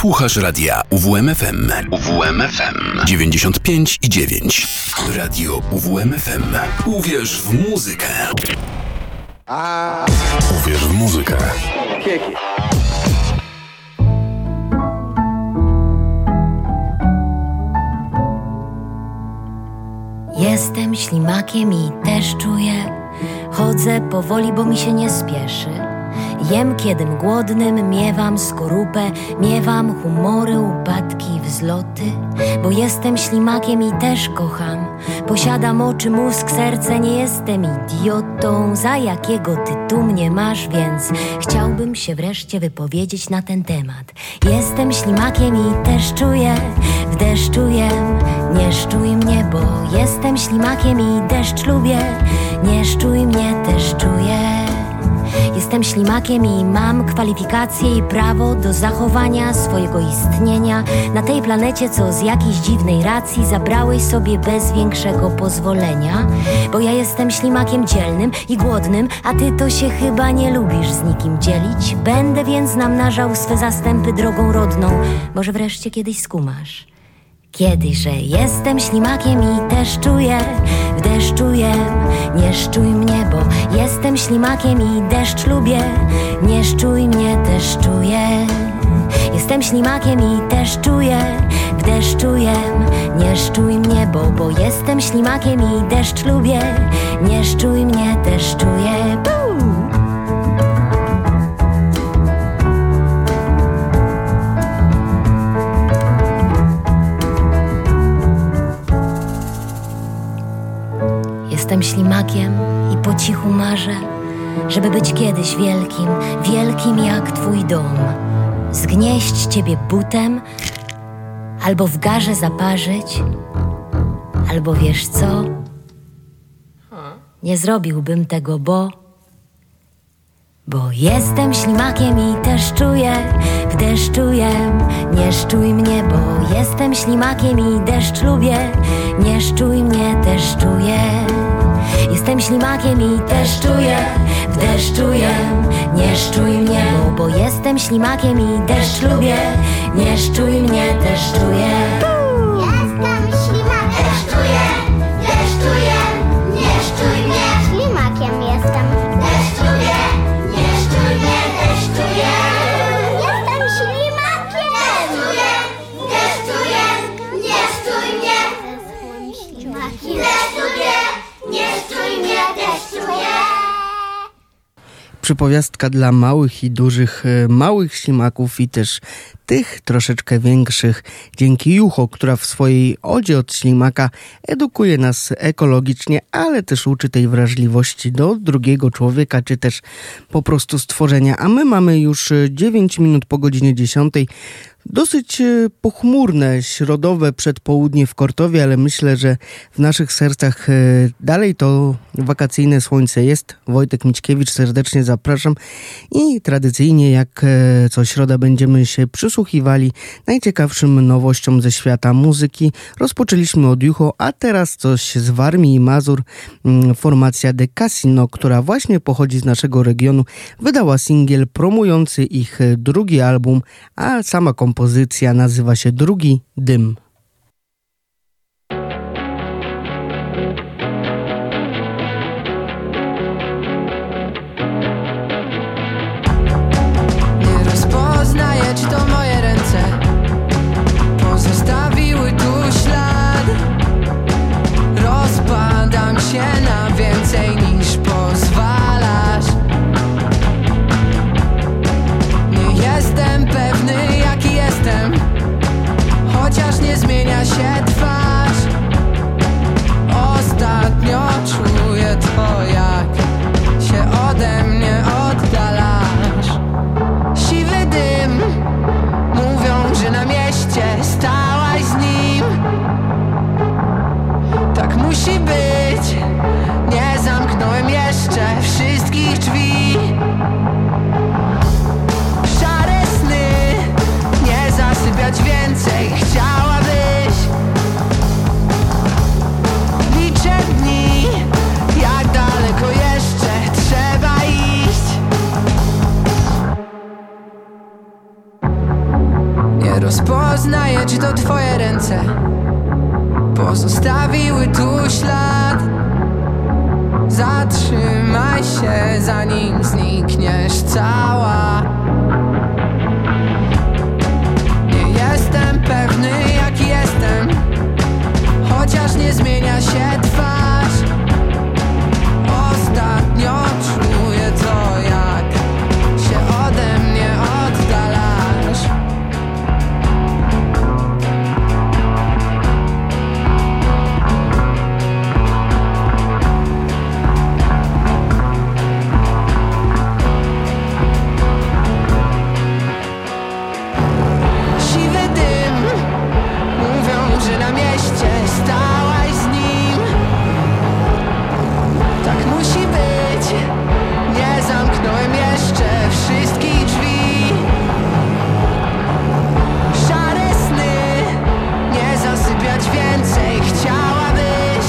Słuchasz radia UWMFM. UWMFM 95,9. Radio UWMFM. Uwierz w muzykę. Uwierz w muzykę. Jestem ślimakiem i też czuję. Chodzę powoli, bo mi się nie spieszy. Jem kiedym głodnym, miewam skorupę, miewam humory, upadki, wzloty. Bo jestem ślimakiem i też kocham. Posiadam oczy, mózg, serce, nie jestem idiotą. Za jakiego ty tu mnie masz, więc chciałbym się wreszcie wypowiedzieć na ten temat. Jestem ślimakiem i też czuję, w deszczu jem, nie szczuj mnie, bo jestem ślimakiem i deszcz lubię, nie szczuj mnie, też czuję. Jestem ślimakiem i mam kwalifikacje i prawo do zachowania swojego istnienia na tej planecie, co z jakiejś dziwnej racji zabrałeś sobie bez większego pozwolenia. Bo ja jestem ślimakiem dzielnym i głodnym, a ty to się chyba nie lubisz z nikim dzielić. Będę więc namnażał swe zastępy drogą rodną. Może wreszcie kiedyś skumasz. Kiedyś, że jestem ślimakiem i też czuję, w deszczu jem, nie szczuj mnie, bo jestem ślimakiem i deszcz lubię, nie szczuj mnie, też czuję. Jestem ślimakiem i też czuję, w deszczu jem, nie szczuj mnie, bo jestem ślimakiem i deszcz lubię, nie szczuj mnie, też czuję. Jestem ślimakiem i po cichu marzę, żeby być kiedyś wielkim, wielkim jak twój dom. Zgnieść ciebie butem, albo w garze zaparzyć, albo wiesz co? Nie zrobiłbym tego, bo jestem ślimakiem i też czuję, w deszczu jem, nie szczuj mnie, bo jestem ślimakiem i deszcz lubię, nie szczuj mnie, też czuję. Jestem ślimakiem i też czuję, w deszczu jem, nie szczuj mnie, bo jestem ślimakiem i deszcz lubię, nie szczuj mnie, też czuję. Jestem ślimakiem, też czuję, deszczu jem, nie szczuj mnie. Ślimakiem jestem, też czuję, nie szczuj mnie, też czuję. Jestem ślimakiem, też czuję, nie szczuj mnie. Ślimakiem, też czuję, nie szczuj mnie, też czuję. Przypowiastka dla małych i dużych, małych ślimaków i też tych troszeczkę większych. Dzięki Jucho, która w swojej odzie od ślimaka edukuje nas ekologicznie, ale też uczy tej wrażliwości do drugiego człowieka, czy też po prostu stworzenia. A my mamy już 9 minut po godzinie 10. Dosyć pochmurne, środowe przedpołudnie w Kortowie, ale myślę, że w naszych sercach dalej to wakacyjne słońce jest. Wojtek Mićkiewicz, serdecznie zapraszam i tradycyjnie jak co środa będziemy się przysłuchiwali najciekawszym nowościom ze świata muzyki. Rozpoczęliśmy od Jucho, a teraz coś z Warmii i Mazur. Formacja The Casino, która właśnie pochodzi z naszego regionu, wydała singiel promujący ich drugi album, a sama kompozycja nazywa się Drugi Dym. Nie rozpoznaję, czy to moje ręce pozostawiły tu ślad. Rozpadam się na więcej niż pozwalasz. Nie jestem pewny, jaki jestem, chociaż nie zmienia się twarz. Ostatnio czuję to, jak się ode mnie oddalasz. Siwy dym, mówią, że na mieście stałaś z nim. Tak musi być, nie zamknąłem jeszcze wszystkich drzwi. Szare sny, nie zasypiać więcej chciałabyś. Liczę dni, jak daleko jeszcze trzeba iść. Nie rozpoznaję, czy to twoje ręce pozostawiły tu ślad. Zatrzymaj się, zanim znikniesz cała. Nie jestem pewny, jaki jestem, chociaż nie zmienia się twarz. Ostatnio czuję to, jak się ode mnie oddalasz. Siwy dym, mówią, że na mieście stałaś z nim. Tak musi być, nie zamknąłem jeszcze wszystkich drzwi. Szare sny, nie zasypiać więcej chciałabyś.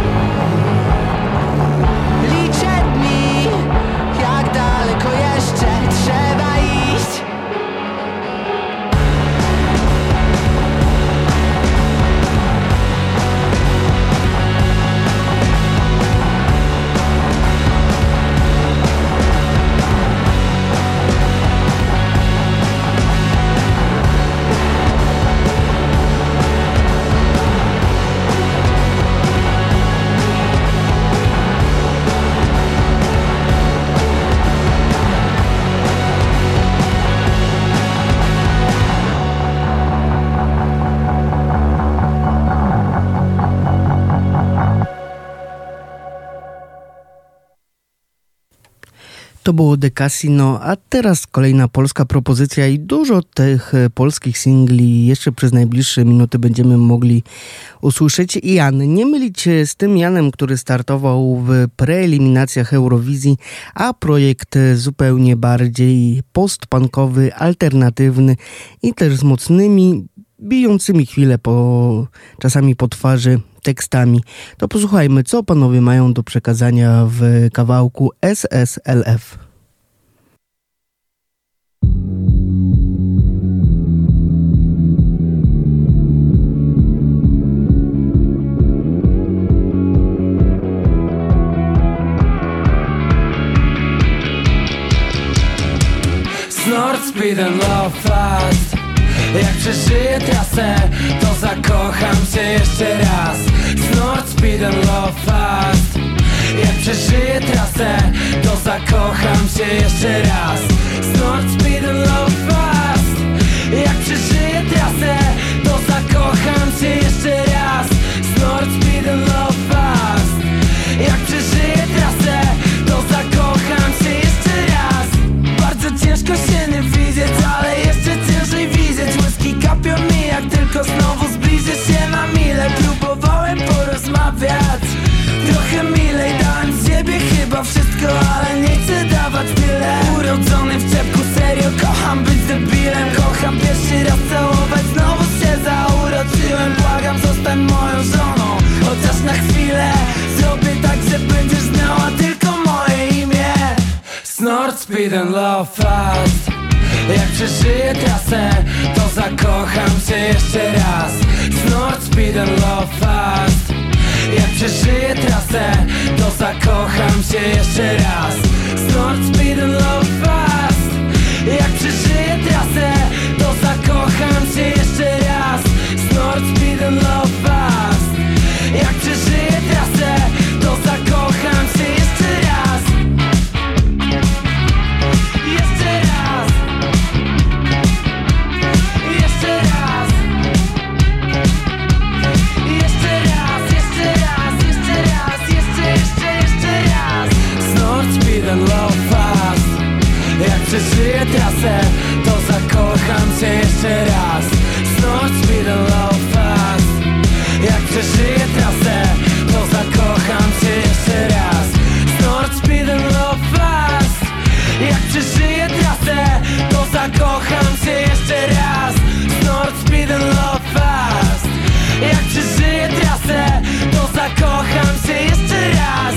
Liczę dni, jak daleko jeszcze trzeba iść. To było The Casino, a teraz kolejna polska propozycja i dużo tych polskich singli jeszcze przez najbliższe minuty będziemy mogli usłyszeć. Jan, nie mylić z tym Janem, który startował w preeliminacjach Eurowizji, a projekt zupełnie bardziej postpunkowy, alternatywny i też z mocnymi, bijącymi chwilę czasami po twarzy tekstami. To posłuchajmy, co panowie mają do przekazania w kawałku SSLF. Snort, speed and love fast. Jak przeżyję trasę, to zakocham się jeszcze raz. Snort, speed and love fast. Jak przeżyję trasę, to zakocham się jeszcze raz. Snort, speed and love fast. Jak przeżyję trasę, to zakocham się jeszcze raz. Snort, speed and love fast. Jak przeżyję trasę, to zakocham się jeszcze raz. Bardzo ciężko się nie widzieć, ale jeszcze ciężej widzieć. Łyski kapią mi, jak tylko znowu zbliżę się na milę. Próbowałem porozmawiać trochę milej, dałem z siebie chyba wszystko, ale nie chcę dawać tyle. Urodzony w czepku, serio kocham być debilem. Kocham pierwszy raz całować, znowu się zauroczyłem. Błagam, zostań moją żoną, chociaż na chwilę. Zrobię tak, że będziesz znała tylko moje imię. Snort, speed and love fast. Jak przeżyję trasę, to zakocham się jeszcze raz. Snort, speed and love fast. Jak przeżyję trasę, to zakocham się jeszcze raz. Snort, speed and love fast. Jak przeżyję trasę, to zakocham się jeszcze raz. Snort, speed and love fast. Jak przeżyję trasę, to zakocham się jeszcze raz. Jeszcze raz. Jeszcze raz. Jeszcze raz, jeszcze raz, jeszcze raz, jeszcze raz. Snort, speed and love fast. Jak przeżyję trasę, to zakocham się jeszcze raz. Snort, speed and love fast. Jak przeżyję trasę, to zakocham się jeszcze raz. Snort, speed and love fast. Jak przeżyję trasę, to zakocham się jeszcze raz. Snort, speed and love fast. Jak przeżyję trasę, to zakocham się jeszcze raz.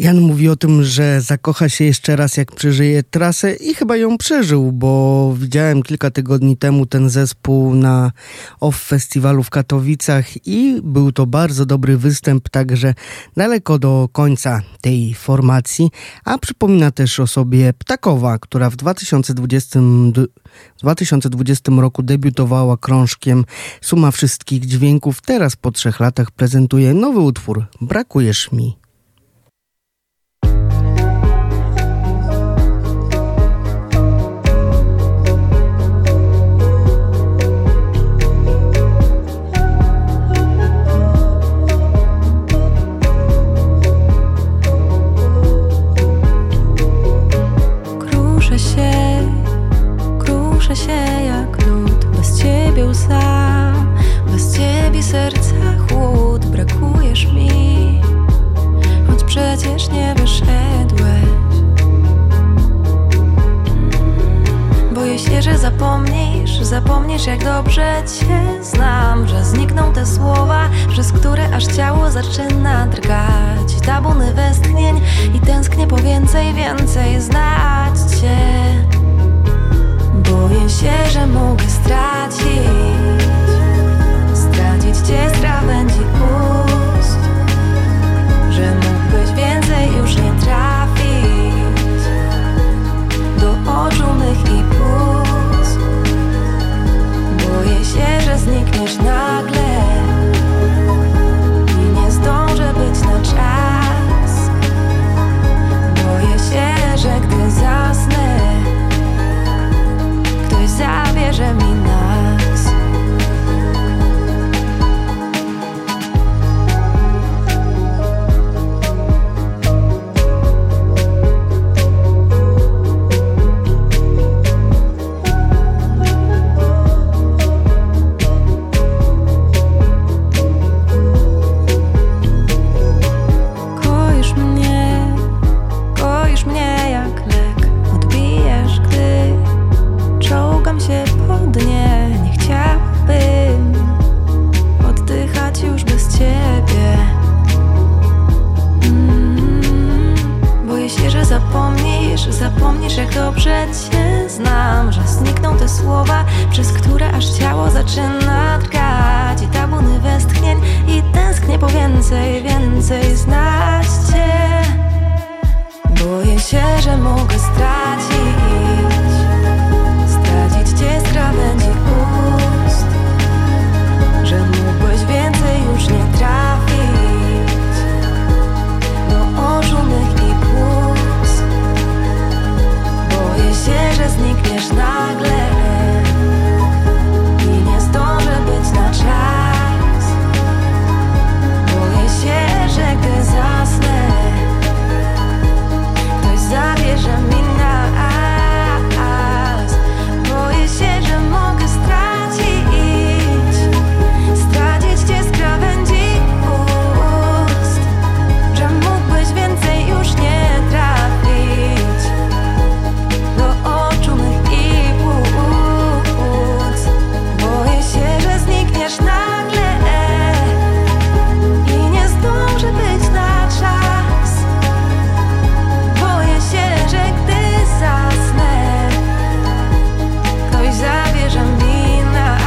Jan mówi o tym, że zakocha się jeszcze raz, jak przeżyje trasę i chyba ją przeżył, bo widziałem kilka tygodni temu ten zespół na OFF Festiwalu w Katowicach i był to bardzo dobry występ, także daleko do końca tej formacji, a przypomina też o sobie Ptakowa, która w 2020 roku debiutowała krążkiem Suma Wszystkich Dźwięków. Teraz po 3 latach prezentuje nowy utwór Brakujesz mi. Kruszę się jak lód, bez ciebie łza, bez ciebie serca chłód. Brakujesz mi, choć przecież nie wyszedłeś. Boję się, że zapomnisz jak dobrze cię znam, że znikną te słowa, przez które aż ciało zaczyna drgać. Tabuny westchnień i tęsknię po więcej znać cię. Boję się, że mogę stracić cię z krawędzi ust, że mógłbyś więcej już nie trafić do oczu mych i płuc. Boję się, że znikniesz nagle i nie zdążę być na czas. Boję się, że gdy zasnę, ktoś zabierze mi nas. Koisz mnie jak lek, odbijesz, gdy czołgam się po dnie. Nie chciałabym oddychać już bez ciebie. Boję się, że zapomnisz jak dobrze cię znam, że znikną te słowa, przez które aż ciało zaczyna drgać. I tabuny westchnień i tęsknię po więcej znać cię. Boję się, że mogę stracić cię z krawędzi ust, że mógłbyś więcej już nie trafić do oczu mych i płuc. Boję się, że znikniesz nagle i nie zdążę być na czas. Boję się, że gdy zasnę, ktoś zabierze mi nas. Boję się, że mogę stracić cię z krawędzi ust, że mógłbyś więcej już nie trafić do oczu mych i płuc. Boję się, że znikniesz nagle i nie zdążę być na czas. Boję się, że gdy zasnę, ktoś zabierze mi nas.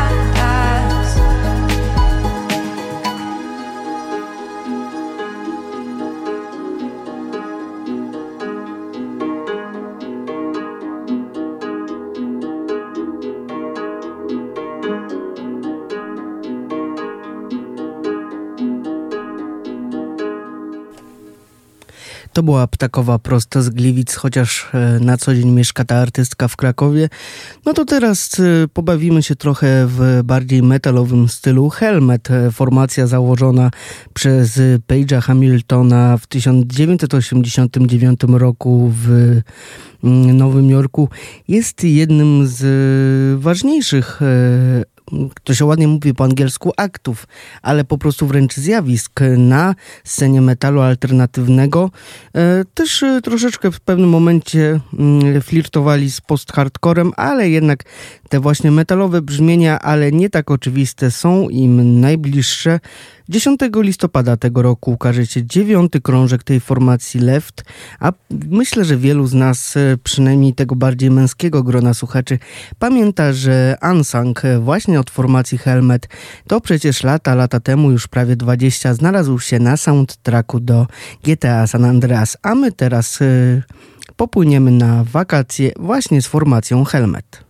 To była Ptakowa prosto z Gliwic, chociaż na co dzień mieszka ta artystka w Krakowie. No to teraz pobawimy się trochę w bardziej metalowym stylu. Helmet, formacja założona przez Page'a Hamiltona w 1989 roku w Nowym Jorku, jest jednym z ważniejszych, to się ładnie mówi po angielsku, aktów, ale po prostu wręcz zjawisk na scenie metalu alternatywnego. Też troszeczkę w pewnym momencie flirtowali z post-hardcorem, ale jednak te właśnie metalowe brzmienia, ale nie tak oczywiste, są im najbliższe. 10 listopada tego roku ukaże się 9. krążek tej formacji Left, a myślę, że wielu z nas, przynajmniej tego bardziej męskiego grona słuchaczy, pamięta, że Unsung właśnie od formacji Helmet to przecież lata temu, już prawie 20, znalazł się na soundtracku do GTA San Andreas, a my teraz popłyniemy na wakacje właśnie z formacją Helmet.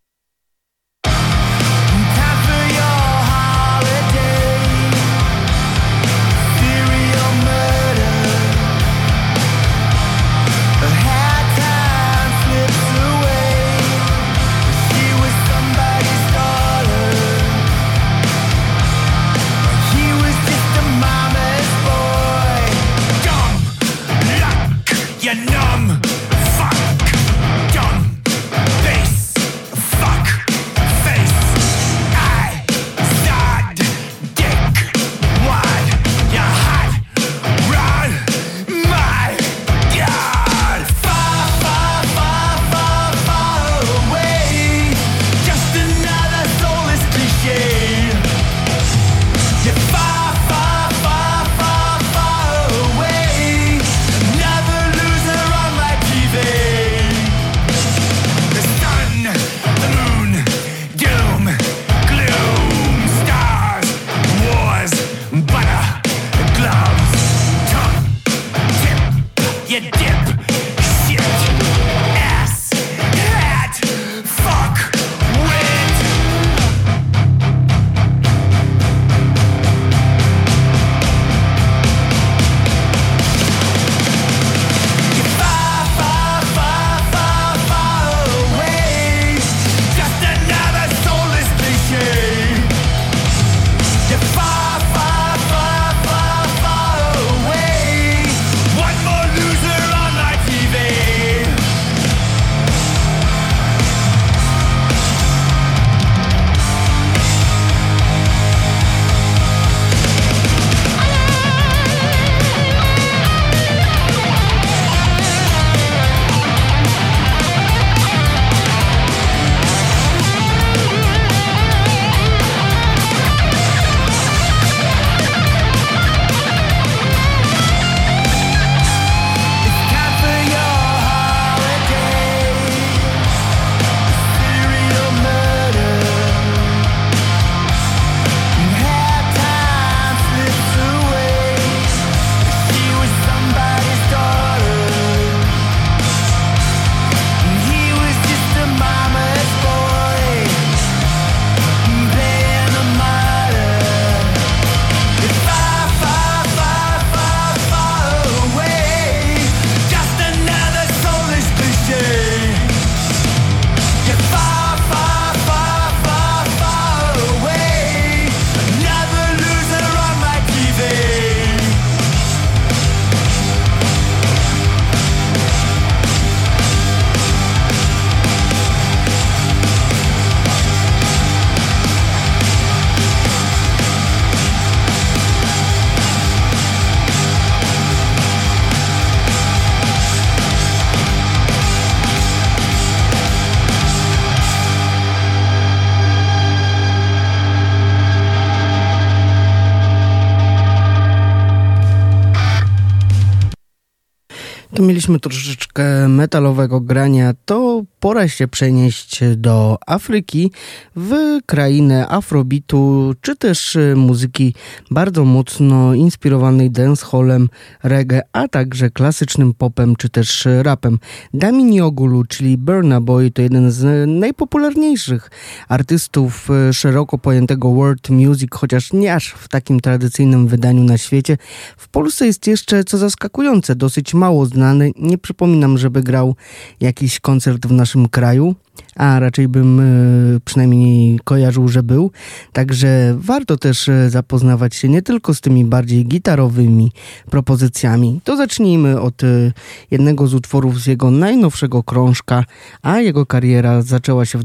Mieliśmy troszeczkę metalowego grania, to pora się przenieść do Afryki, w krainę afrobeatu, czy też muzyki bardzo mocno inspirowanej dancehallem, reggae, a także klasycznym popem, czy też rapem. Damini Ogulu, czyli Burna Boy, to jeden z najpopularniejszych artystów szeroko pojętego world music, chociaż nie aż w takim tradycyjnym wydaniu na świecie. W Polsce jest jeszcze, co zaskakujące, dosyć mało znany. Nie przypominam, żeby grał jakiś koncert w naszym kraju, a raczej bym przynajmniej kojarzył, że był. Także warto też zapoznawać się nie tylko z tymi bardziej gitarowymi propozycjami. To zacznijmy od jednego z utworów z jego najnowszego krążka, a jego kariera zaczęła się w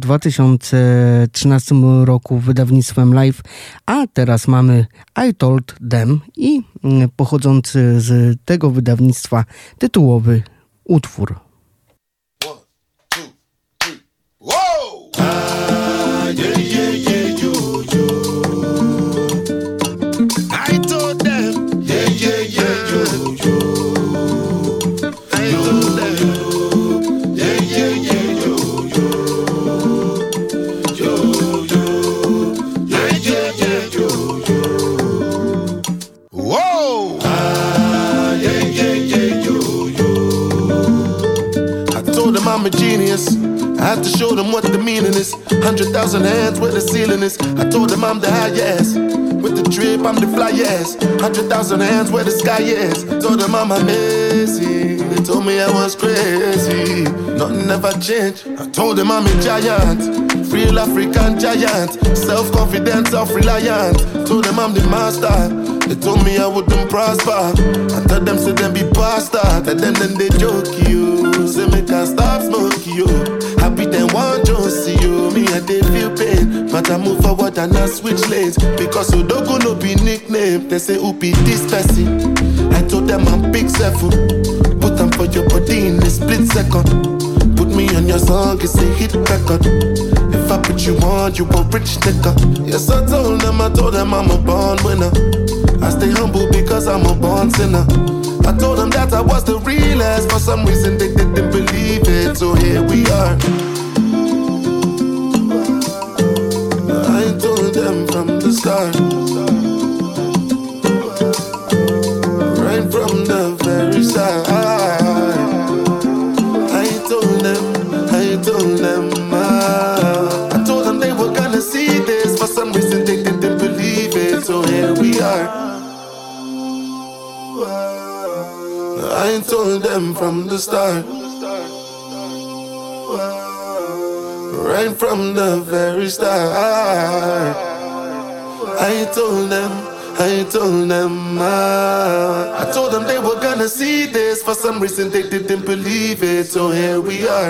2013 roku wydawnictwem Live, a teraz mamy I Told Them i pochodzący z tego wydawnictwa tytułowy utwór. I 100,000 hands where the ceiling is. I told them I'm the highest. With the drip, I'm the flyest. 100,000 hands where the sky is. Told them I'm amazing. They told me I was crazy. Nothing ever changed. I told them I'm a giant. Real African giant. Self-confident, self-reliant. Told them I'm the master. They told me I wouldn't prosper. I tell them, say them be bastard. Tell them, then they joke you. Say me can't stop smoking you. Happy then one don't see you. Me and they feel pain. But I move forward and I switch lanes. Because Odogo no be nickname. They say who be this person. I told them I'm big seven. Put them for your body in a split second. Put me on your song, it's a hit record. If I put you on, you a rich nigga. Yes, I told them I'm a born winner. I stay humble because I'm a born sinner. I told them that I was the realest. For some reason they didn't believe it. So here we are. I told them from the start. Right from the very start. I told them I told them they were gonna see this. For some reason they didn't believe it. So here we are. I told them from the start. Right from the very start. I told them I told them they were gonna see this. For some reason they didn't believe it. So here we are.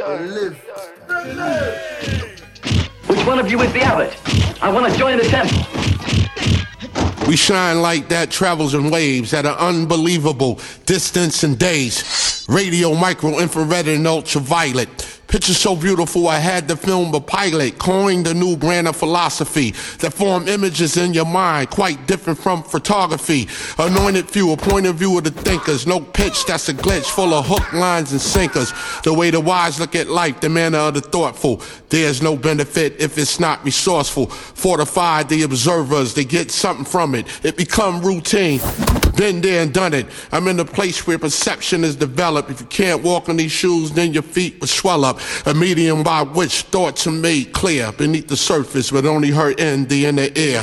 Which one of you is the abbot? I want to join the temple. We shine light that travels in waves at an unbelievable distance and days. Radio, micro, infrared, and ultraviolet. Pictures so beautiful I had to film a pilot. Coined a new brand of philosophy that form images in your mind quite different from photography. Anointed few, a point of view of the thinkers. No pitch, that's a glitch full of hook lines and sinkers. The way the wise look at life, the manner of the thoughtful. There's no benefit if it's not resourceful. Fortified the observers, they get something from it. It become routine. Been there and done it. I'm in a place where perception is developed. If you can't walk on these shoes, then your feet will swell up. A medium by which thoughts are made clear beneath the surface, but only heard in the inner ear.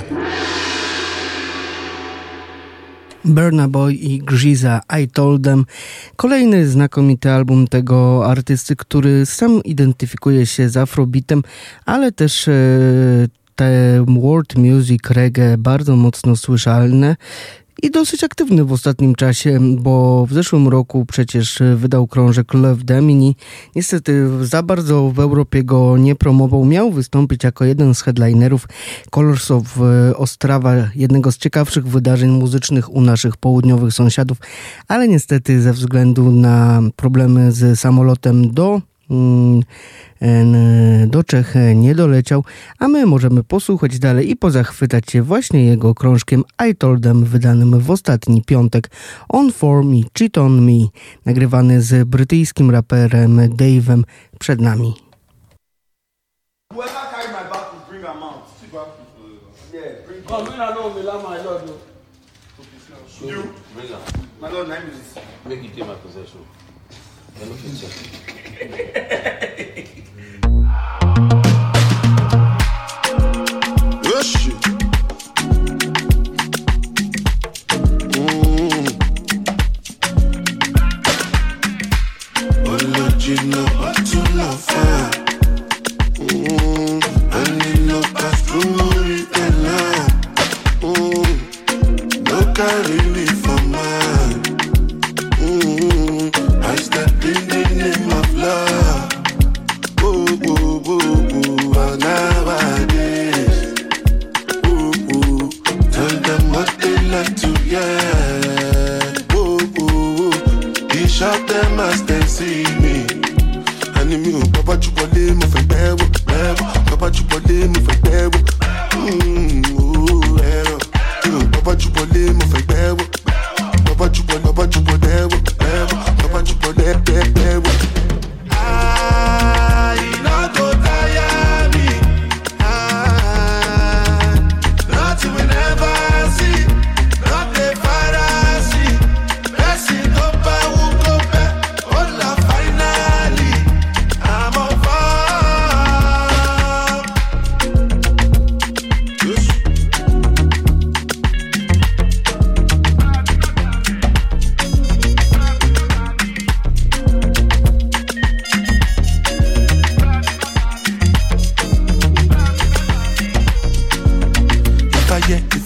Burna Boy i Gziza, I Told Them. Kolejny znakomity album tego artysty, który sam identyfikuje się z afrobeatem, ale też te world music, reggae bardzo mocno słyszalne. I dosyć aktywny w ostatnim czasie, bo w zeszłym roku przecież wydał krążek Love Damini. Niestety za bardzo w Europie go nie promował. Miał wystąpić jako jeden z headlinerów Colors of Ostrava, jednego z ciekawszych wydarzeń muzycznych u naszych południowych sąsiadów, ale niestety ze względu na problemy z samolotem do Czech nie doleciał, a my możemy posłuchać dalej i pozachwytać się właśnie jego krążkiem I Told Them, wydanym w ostatni piątek. On For Me, Cheat On Me, nagrywany z brytyjskim raperem Dave'em przed nami. Original, to love fire. And in no past memory can lie. No carry me for mine. I step in the name of love.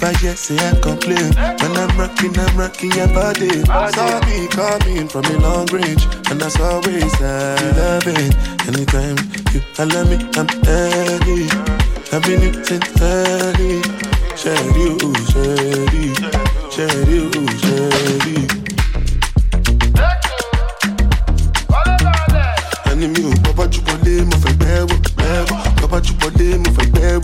never yet say I complain. When I'm rocking your body. Saw me coming from a long range, and that's always I love it. Anytime you allow me, I'm early. I've been you since early. Share you. Anime, papa chupole, mo fai bebo. Papa chupole, mo fai bebo.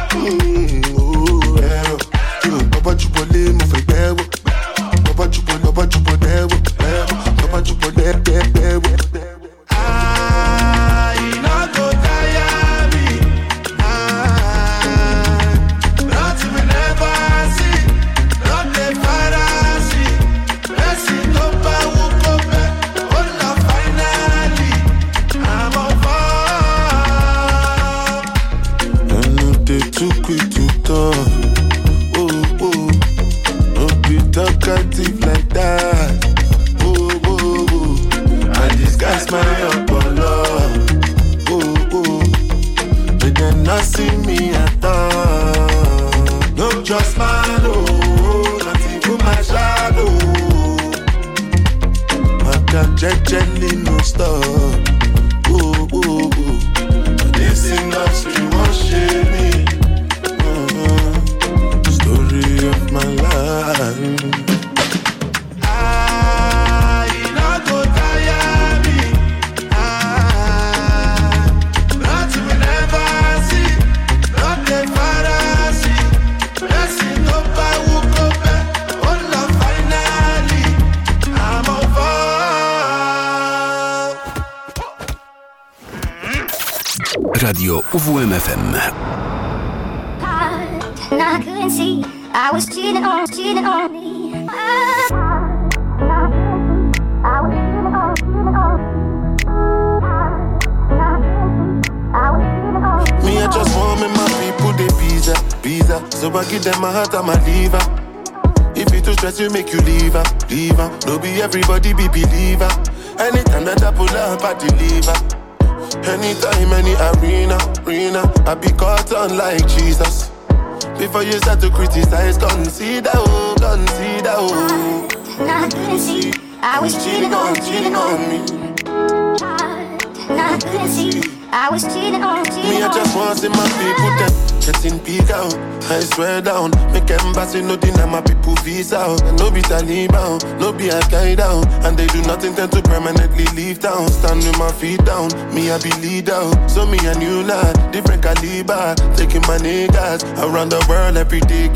Papa chupole, mo fai bebo. Papa chupole, bebo. Papa chupole, bebo. Talkative like that. I disguise my Apollo. But they not see me at all. No just man, not even my shadow. I got jelly no stop. This industry won't shame me. Story of my life. Radio UWM-FM. And I couldn't see I was cheating on me. Me, I just want me my people, they visa. So I give them my heart and my liver. If you too stress, you make you leave her. No be everybody be believer. Anytime that I pull up, I deliver. Anytime, any arena, I be caught on like Jesus. Before you start to criticize, consider. And I couldn't see I was cheating on me. And I couldn't see I was cheating on me. I just want to see my people them getting big out. I swear down, make embassy no deny my people visa out. And no be Taliban, no be Al-Qaeda, and they do not intend to permanently leave town. Stand with my feet down, me I be leader. So me a new lad, different caliber, taking my niggas around the world every day.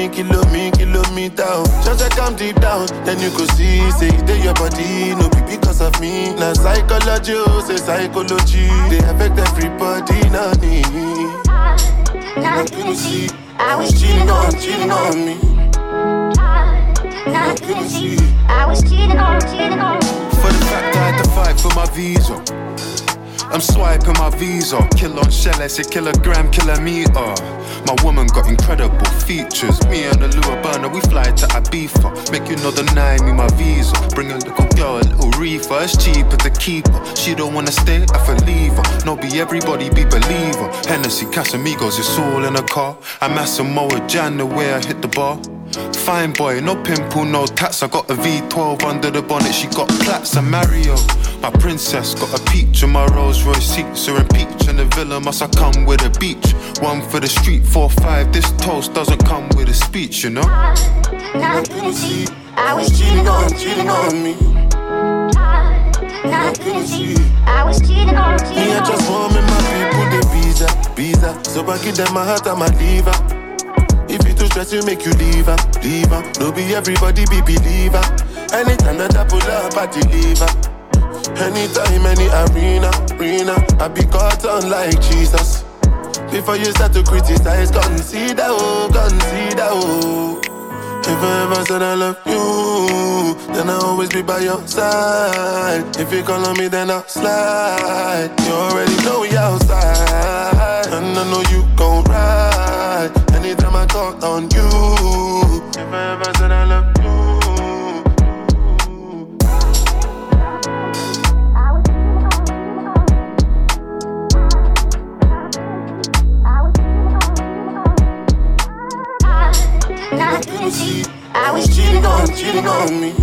Kilometer. Just I come deep down, then you could see, say they your body, no be because of me. Now psychology, say psychology, they affect everybody, not me. And I couldn't see I was cheating on me. And I couldn't see I was cheating on me. For the fact I had to fight for my visa, I'm swiping my visa. Kill on shell, I say kilogram, kilometer. My woman got incredible features. Me and the Lua burner, we fly to Ibiza. Make you know the nine, me my visa. Bring a little girl, a little reefer. It's cheaper to keep her. She don't wanna stay, I feel leave her. No be everybody be believer. Hennessy, Casamigos, it's all in a car. I'm Massimo Jan, the way I hit the bar. Fine boy, no pimple, no tats. I got a V12 under the bonnet. She got plaits. I'm Mario, my princess. Got a peach in my Rolls Royce seats. Are in peach in the villa, must I come with a beach? One for the street, 4-5. This toast doesn't come with a speech, you know. And I couldn't see I was cheating on me. And I couldn't see I was cheating on me. Me, I just want me my people, they visa. So I give them my heart and my liver. If you too stress, you make you leave her. No be everybody be believer. Anytime that I pull up, I deliver. Anytime, any arena, I be caught on like Jesus. Before you start to criticize, consider. If I ever said I love you, then I'll always be by your side. If you call on me, then I'll slide. You already know we outside, and I know you gon' ride anytime I call on you. If I ever said I love you. couldn't see I was cheating on me.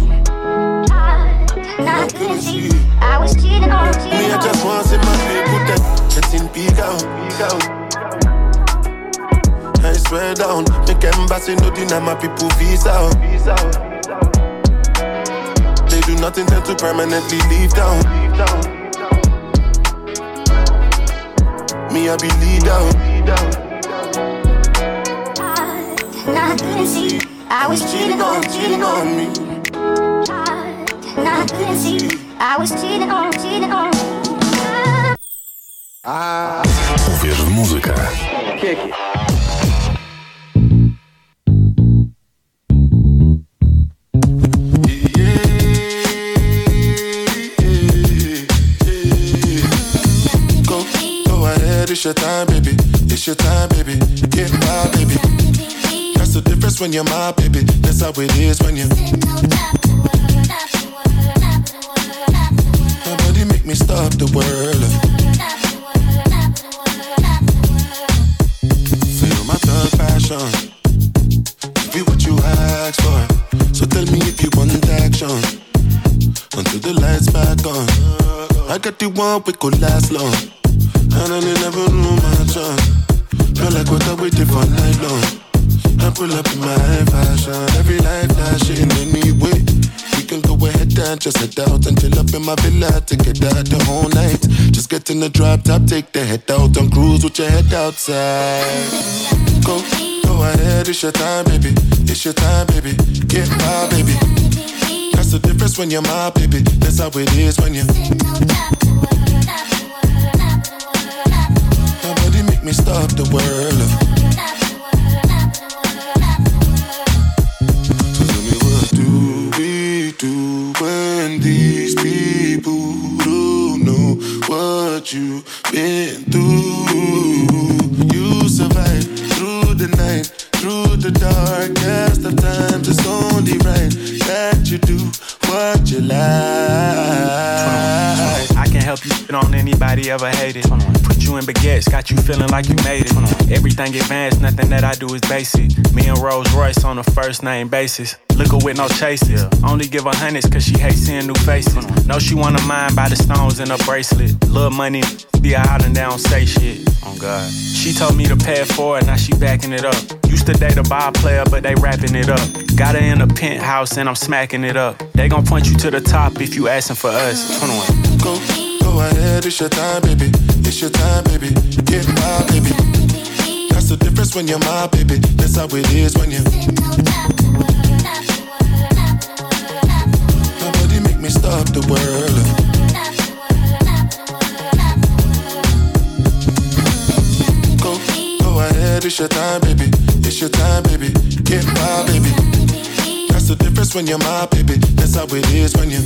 I couldn't see I was cheating on me. I just want to see my people that it's in peak out. I swear down, make embassy no deny my people visa. They do nothing tend to permanently leave town. Me I be lead out. I couldn't see I was cheating on me. I couldn't see I was cheating on me. Uwierz w muzykę. It's your time, baby. It's your time, baby. Get my baby. That's the difference when you're my baby. That's how it is when you. Nobody make me stop the world. Feel my thug passion. Be what you ask for. So tell me if you want action. Until the lights back on. I got the one we could last long. And I never knew my chance. Feel like what I waited for night long. I pull up in my fashion. Every life flashing anyway. We can go ahead and just head out and chill up in my villa to get out the whole night. Just get in the drop top, take the head out and cruise with your head outside. Go ahead, it's your time, baby. It's your time, baby. Get my baby. That's the difference when you're my baby. That's how it is when you. Nobody make me stop the world. So tell me, what do we do when these people don't know what you've been through? You survive through the night, through the darkest of times. It's only right that you do what you like. I can help you get on anybody ever hated. Put you in baguettes, got you feeling like you made it. Everything advanced, nothing that I do is basic. Me and Rolls Royce on a first name basis. Liquor with no chases. Only give her hundreds cause she hates seeing new faces. Know she wanna mind by the stones in her bracelet. Little money, be her out and they don't say shit. Oh God. She told me to pay it forward, now she backing it up. Used to date a ball player, but they wrapping it up. Got her in a penthouse and I'm smacking it up. They gon' point you to the top if you asking for us. 21. Go ahead, it's your time, baby. It's your time, baby. Get my baby. That's the difference when you're my baby. That's how it is when you. Nobody make me stop the world. Go ahead, it's your time, baby. It's your time, baby. Get my baby. That's the difference when you're my baby. That's how it is when you.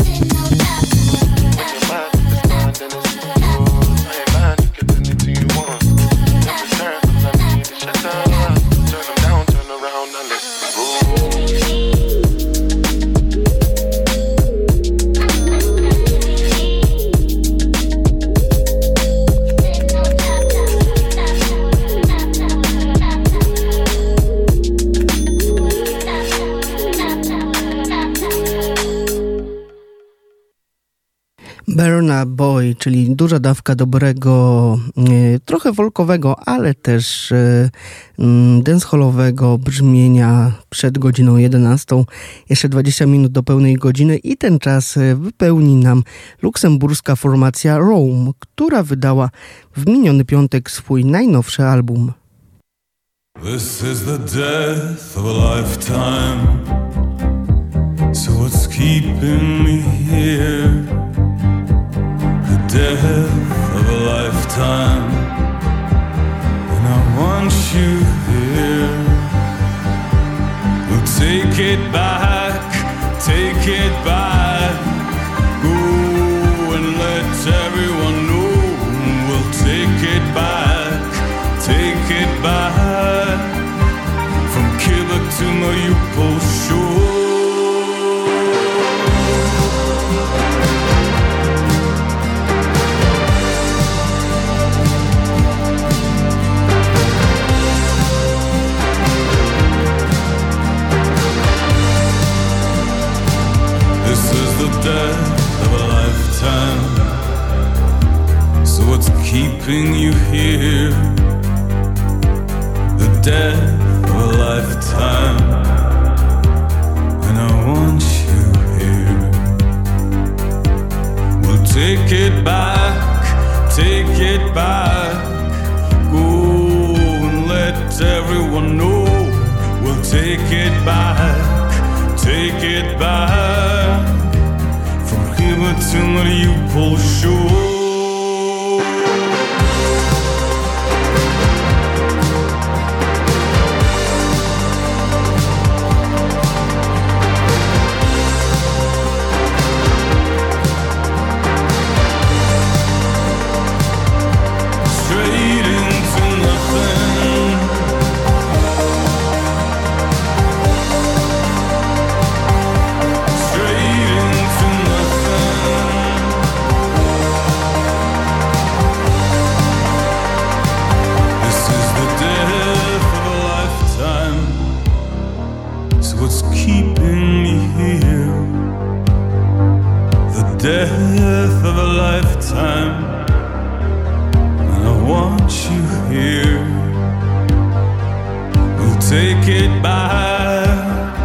Burna Boy, czyli duża dawka dobrego, trochę folkowego, ale też dancehallowego brzmienia przed godziną 11. Jeszcze 20 minut do pełnej godziny i ten czas wypełni nam luksemburska formacja Rome, która wydała w miniony piątek swój najnowszy album. This is the death of a lifetime. So what's keeping me here? The death of a lifetime. And I want you here. We'll take it back, take it back. Go and let everyone know. We'll take it back, take it back. From Quebec to Mariupol shore. death of a lifetime, and I want you here. We'll take it back, take it back. Go and let everyone know. We'll take it back, take it back. From here to Mariupol shore. Death of a lifetime, and I want you here. We'll take it back,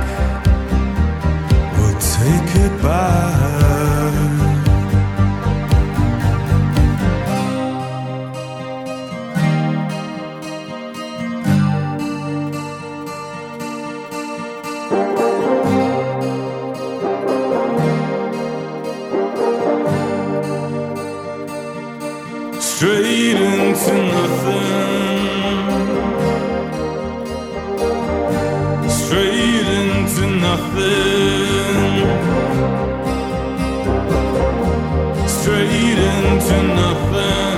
we'll take it back. Straight into nothing, straight into nothing, straight into nothing.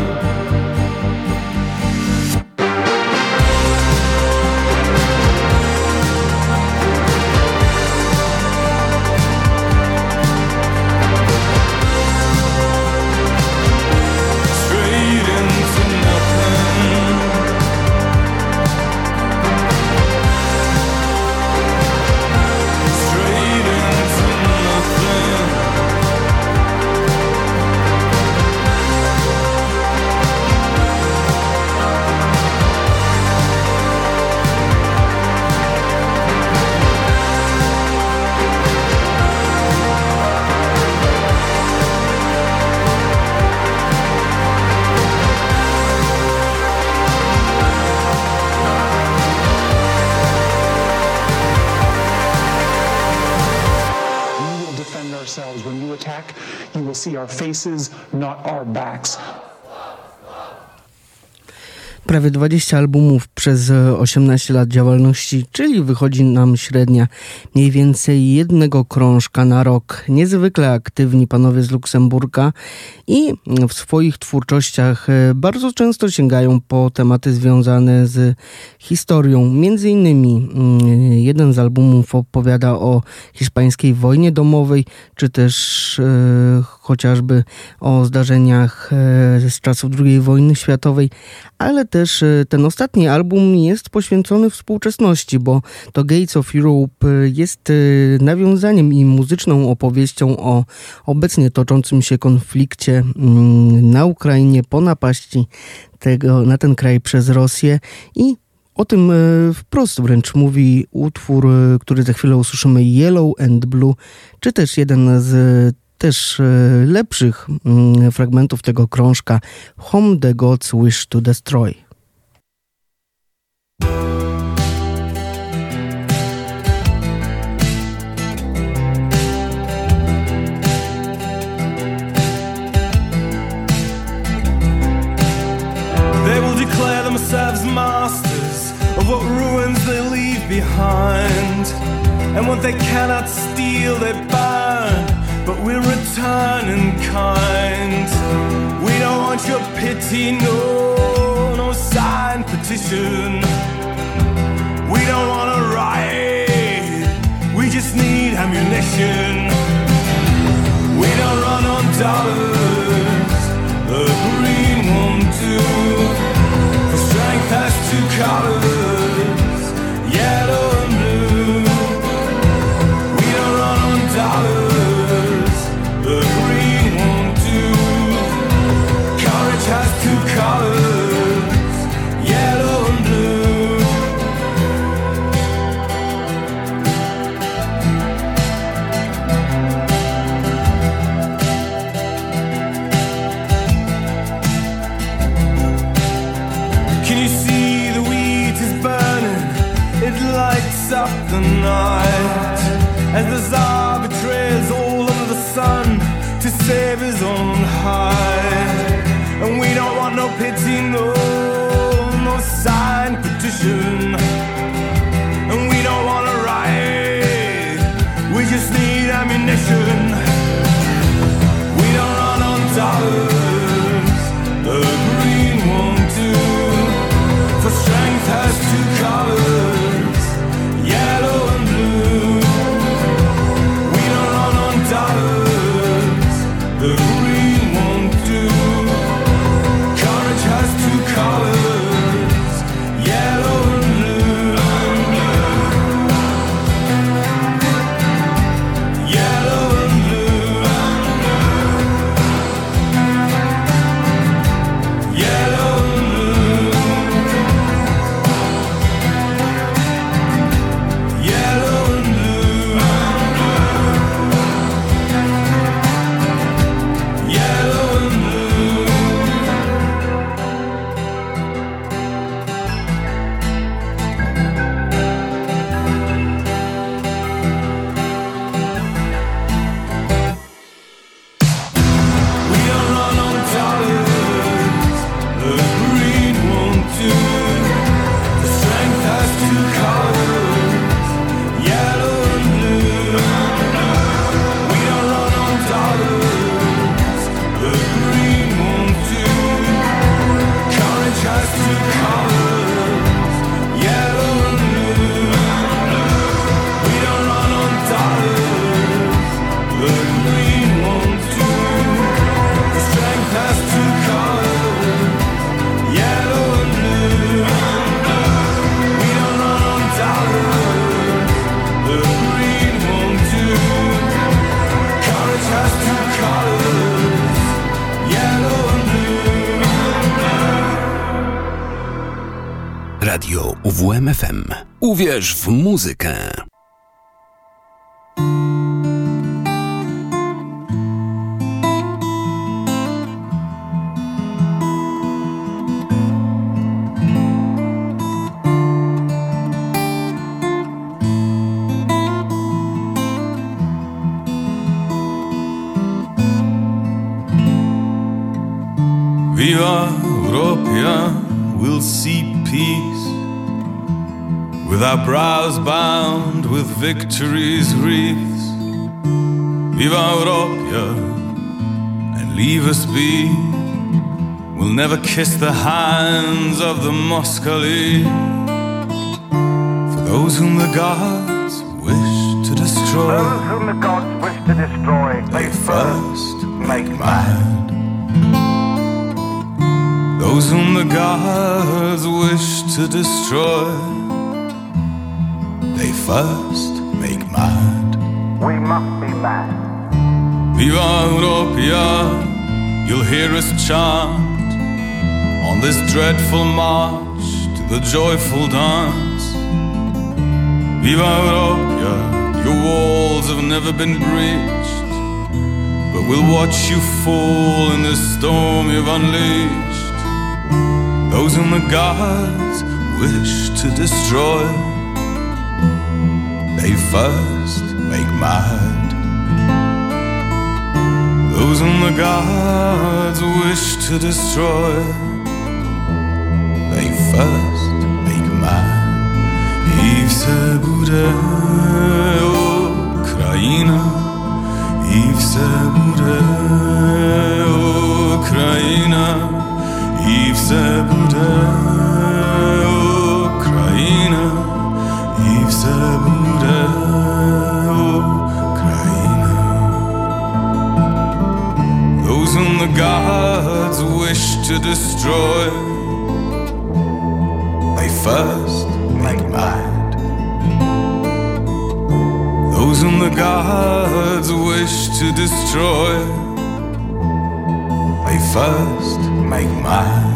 When you attack, you will see our faces, not our backs. Prawie 20 albumów przez 18 lat działalności, czyli wychodzi nam średnia mniej więcej jednego krążka na rok. Niezwykle aktywni panowie z Luksemburga i w swoich twórczościach bardzo często sięgają po tematy związane z historią. Między innymi jeden z albumów opowiada o hiszpańskiej wojnie domowej, czy też chociażby o zdarzeniach z czasów II wojny światowej, ale też ten ostatni album jest poświęcony współczesności, bo to Gates of Europe jest nawiązaniem i muzyczną opowieścią o obecnie toczącym się konflikcie na Ukrainie po napaści na ten kraj przez Rosję i o tym wprost wręcz mówi utwór, który za chwilę usłyszymy, Yellow and Blue, czy też jeden z też lepszych fragmentów tego krążka, Whom the Gods Wish to Destroy. They will declare themselves masters of what ruins they leave behind, and what they cannot steal they burn, but we'll return in kind. We don't want your pity, no signed petition. We don't want a riot, we just need ammunition. We don't run on dollars, the green one too. For strength has two colors, yellow and blue. We don't run on dollars, the green one too. Courage has two colors, yellow and blue. lights up the night as the Tsar betrays all of the sun to save his own hide. And we don't want no pity, no signed petition. And we don't want to riot, we just need ammunition. We don't run on dollars, the green won't do. For strength has two colors, yellow and blue. We don't run on dollars, the green won't do. Courage has two colors, yellow and blue. Yellow and blue. Yellow and blue. Yellow and blue. Yellow and blue. We don't run on dollars, the green won't do. The strength has two colors, yellow and blue. We don't run on dollars, the green won't do. Courage has two colors, yellow and blue. We don't run on dollars, the green won't do. The strength has two colors, yellow and blue. We don't run on dollars, the green won't do. Courage has two colors, yellow and blue. Radio UWM-FM. Uwierz w muzykę. Viva Europea, we'll see peace with our brows bound with victory's wreaths. Viva Europea, and leave us be. We'll never kiss the hands of the Moskali. For those whom the gods wish to destroy, those whom the gods wish to destroy, they first make mad. Those whom the gods wish to destroy, they first make mad. We must be mad. Viva Europea, you'll hear us chant on this dreadful march to the joyful dance. Viva Europea, your walls have never been breached, but we'll watch you fall in this storm you've unleashed. Those whom the gods wish to destroy, they first make mad. Those whom the gods wish to destroy, they first make mad. I vse bude Ukraina, I vse bude Ukraina, I vse bude Ukraina, I vse bude Ukraina. Those whom the gods wish to destroy, they first make mad. Those whom the gods wish to destroy, they first make mad.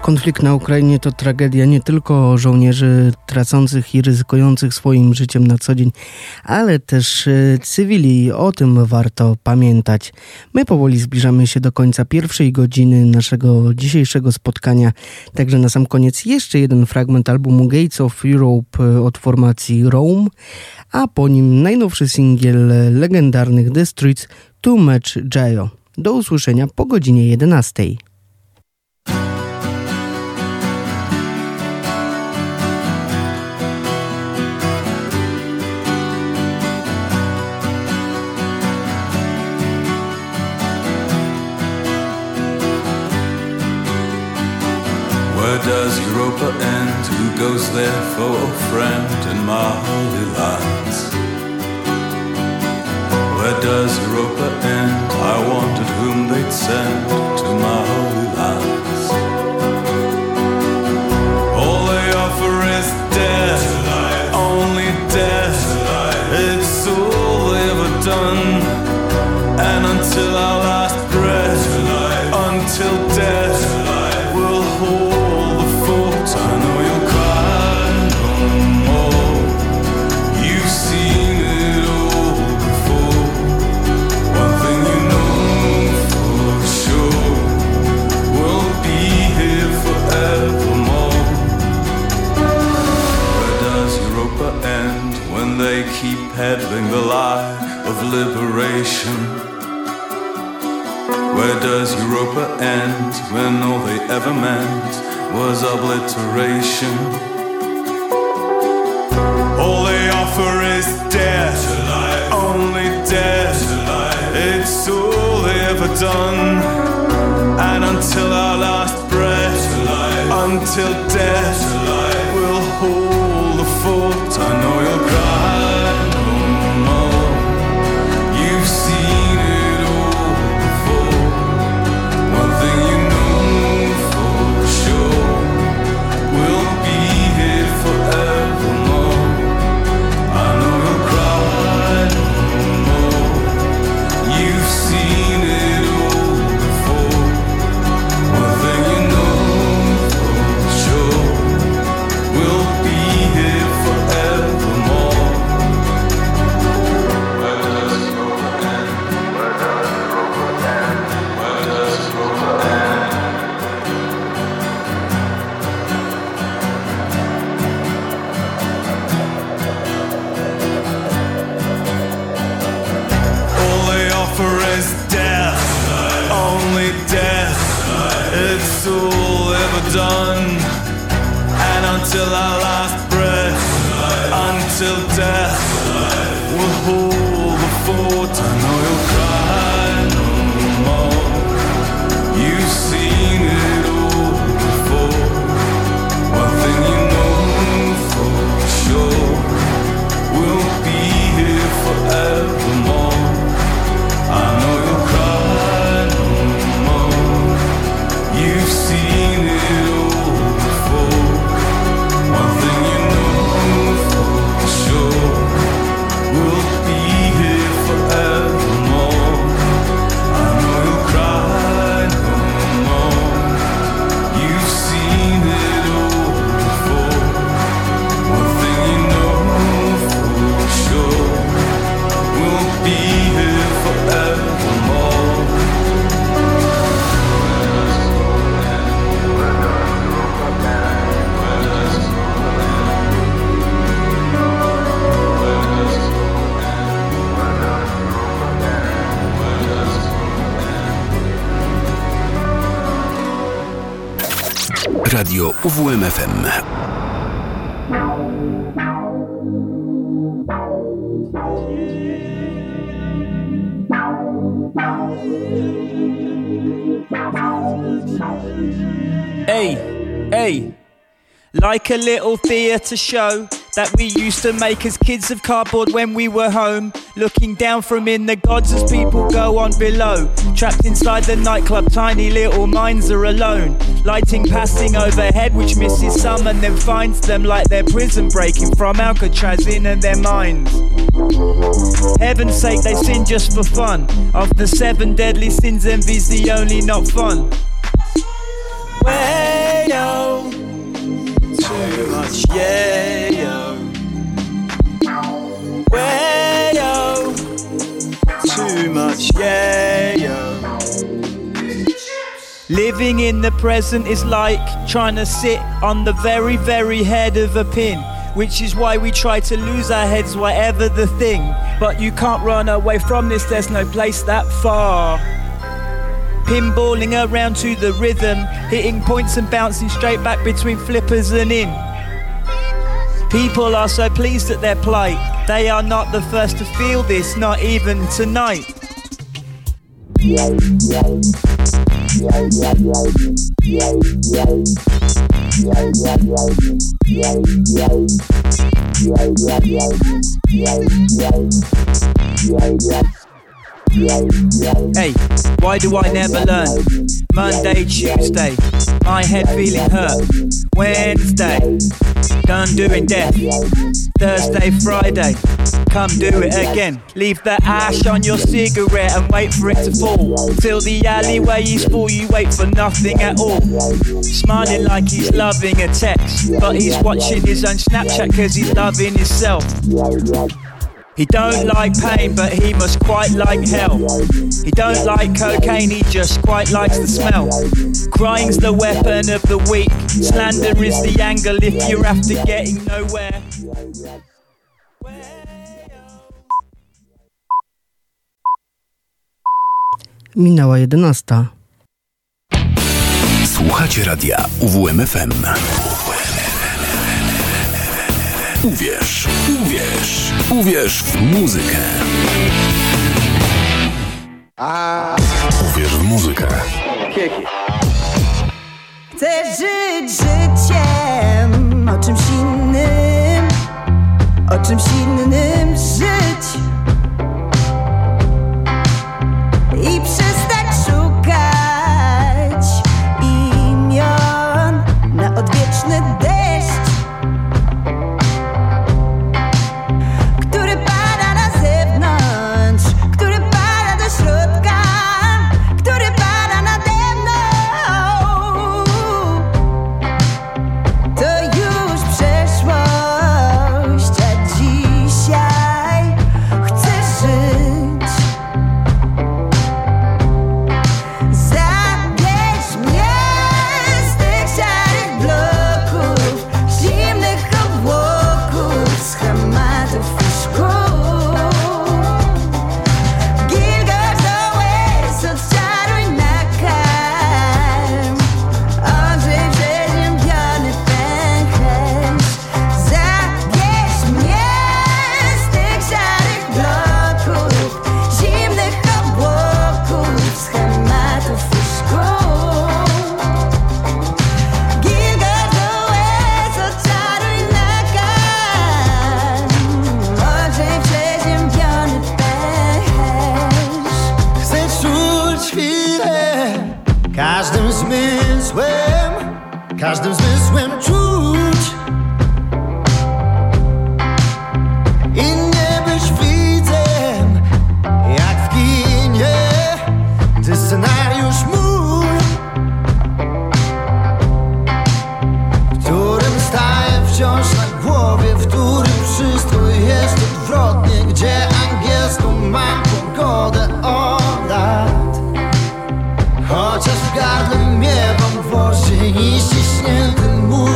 Konflikt na Ukrainie to tragedia nie tylko żołnierzy tracących i ryzykujących swoim życiem na co dzień, ale też cywili. O tym warto pamiętać. My powoli zbliżamy się do końca pierwszej godziny naszego dzisiejszego spotkania. Także na sam koniec jeszcze jeden fragment albumu Gates of Europe od formacji Rome, a po nim najnowszy singiel legendarnych The Streets Too Much Jayo. Do usłyszenia po godzinie 11. Where does Europa end? Who goes there for a friend in my holy lands? Where does Europa end? I wondered whom they'd send to my holy lands. All they offer is death, only death. It's all they ever done. And until our last breath, until death will hold. I know you'll cry no more. You've seen it all before. One thing you know for sure, we'll be here forevermore. Where does Europa end when they keep peddling the lie of liberation? Where does Europa end when all they ever meant was obliteration? All they offer is death, only death. It's all they ever done. And until our last breath, until death will hold the fort. I know you'll cry no more. You've seen it all before. One thing you know for sure, we'll be here forevermore. I know you'll cry no more. You've seen it all before. One thing you know for sure, we'll be here forevermore. Where does Europa end? Where does Europa end? Where does Europa end? All they offer is death, only death. It's all ever done. And until our last breath, until death will hold the fort. I know you'll cry no more. You've seen it all before. One thing you know for sure, we'll be here forevermore. I know you'll cry no more. You've seen it all before. One thing you know for sure, we'll be here forevermore. I know you'll cry no more. You've seen it all before. One thing you know for sure, we'll be here forevermore. Radio UWMFM. Hey, like a little theatre show that we used to make as kids of cardboard when we were home, looking down from in the gods as people go on below. Trapped inside the nightclub, tiny little minds are alone. Lighting passing overhead which misses some and then finds them like they're prison breaking from Alcatraz in their minds. Heaven's sake, they sin just for fun. Of the 7 deadly sins, envy's the only not fun. Way much, yeah, yo. Way, yo. Too much, yeah, yo. Living in the present is like trying to sit on the very, very head of a pin, which is why we try to lose our heads, whatever the thing. But you can't run away from this, there's no place that far. Pinballing around to the rhythm, hitting points and bouncing straight back between flippers and in. People are so pleased at their plight, they are not the first to feel this, not even tonight. Hey, why do I never learn? Monday, Tuesday, my head feeling hurt. Wednesday, done doing death. Thursday, Friday, come do it again. Leave the ash on your cigarette and wait for it to fall. Till the alleyway is full, you wait for nothing at all. Smiling like he's loving a text, but he's watching his own Snapchat cause he's loving himself. He don't like pain, but he must quite like hell. He don't like cocaine, he just quite likes the smell. Crying's the weapon of the weak, slander is the angle if you're after getting nowhere. Minęła 11. Słuchacie radia UWMFM. Uwierz, uwierz, uwierz w muzykę. Uwierz w muzykę. Chcę żyć życiem, o czymś innym żyć i przestać szukać imion na odwieczny deszcz, który pada na zewnątrz, który pada do środka, który pada nade mną. To już przeszłość, a dzisiaj chcę żyć. Zabierz mnie z tych szarych bloków, zimnych obłoków, schematów i szkół. Gilgamesh Oasis, odczaruj nakarm, odżyj przeziębiony pęcherz. Zabierz mnie z tych szarych bloków, zimnych obłoków, schematów i szkół. Gilgamesh Oasis, odczaruj nakarm, odżyj przeziębiony pęcherz. Chcę czuć chwilę każdym zmysłem czuć i nie być widzem jak w kinie, gdy scenariusz mój, w którym staję wciąż na głowie, w którym wszystko jest odwrotnie, gdzie angielską mam pogodę od lat. Chociaż w gardle miewam gwoździe i ściśnięty mur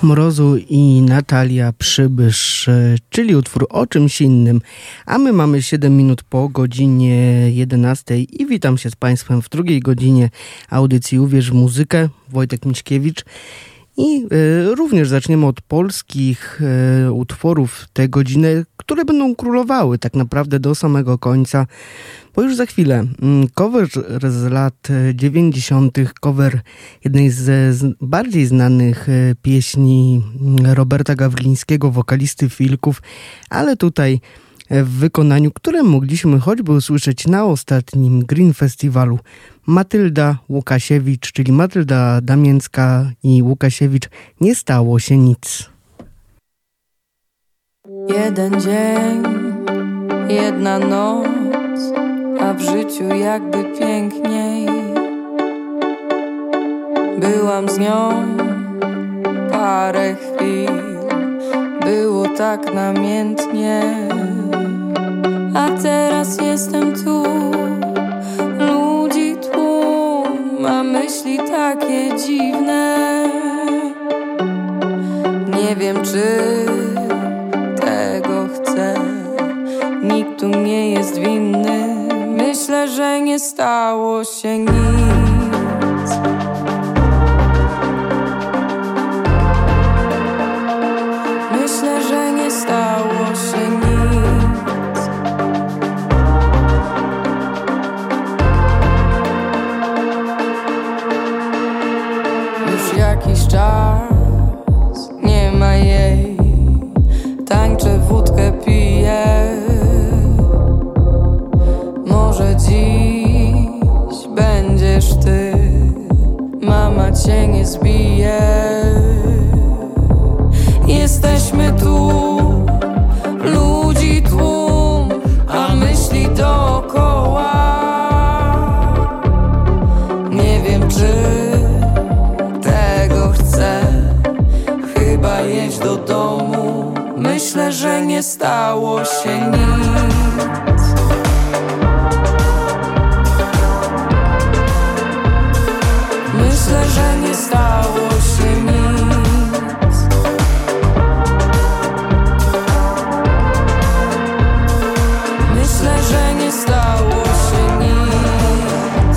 Mrozu i Natalia Przybysz, czyli utwór o czymś innym. A my mamy 7 minut po godzinie 11 i witam się z Państwem w drugiej godzinie audycji Uwierz w muzykę. Wojtek Miśkiewicz. I również zaczniemy od polskich utworów tę godzinę, które będą królowały tak naprawdę do samego końca, bo już za chwilę cover z lat 90., cover jednej z bardziej znanych pieśni Roberta Gawlińskiego, wokalisty Wilków, ale tutaj w wykonaniu, które mogliśmy choćby usłyszeć na ostatnim Green Festiwalu. Matylda Łukasiewicz, czyli Matylda Damięcka i Łukasiewicz, Nie stało się nic. Jeden dzień, jedna noc, a w życiu jakby piękniej. Byłam z nią parę chwil, było tak namiętnie. A teraz jestem tu, ludzi tłum, a myśli takie dziwne. Nie wiem, czy tego chcę, nikt tu nie jest winny. Myślę, że nie stało się nic. Myślę, że nie stało się nic. Już jakiś czas nie ma jej, tańczę, wódkę piję. Może dziś będziesz ty, mama cię nie zbije. Jesteśmy tu, ludzi tłum, a myśli dookoła. Nie wiem, czy tego chcę, chyba jeść do domu. Myślę, że nie stało się nic. Myślę, że nie stało się nic. Myślę, że nie stało się nic.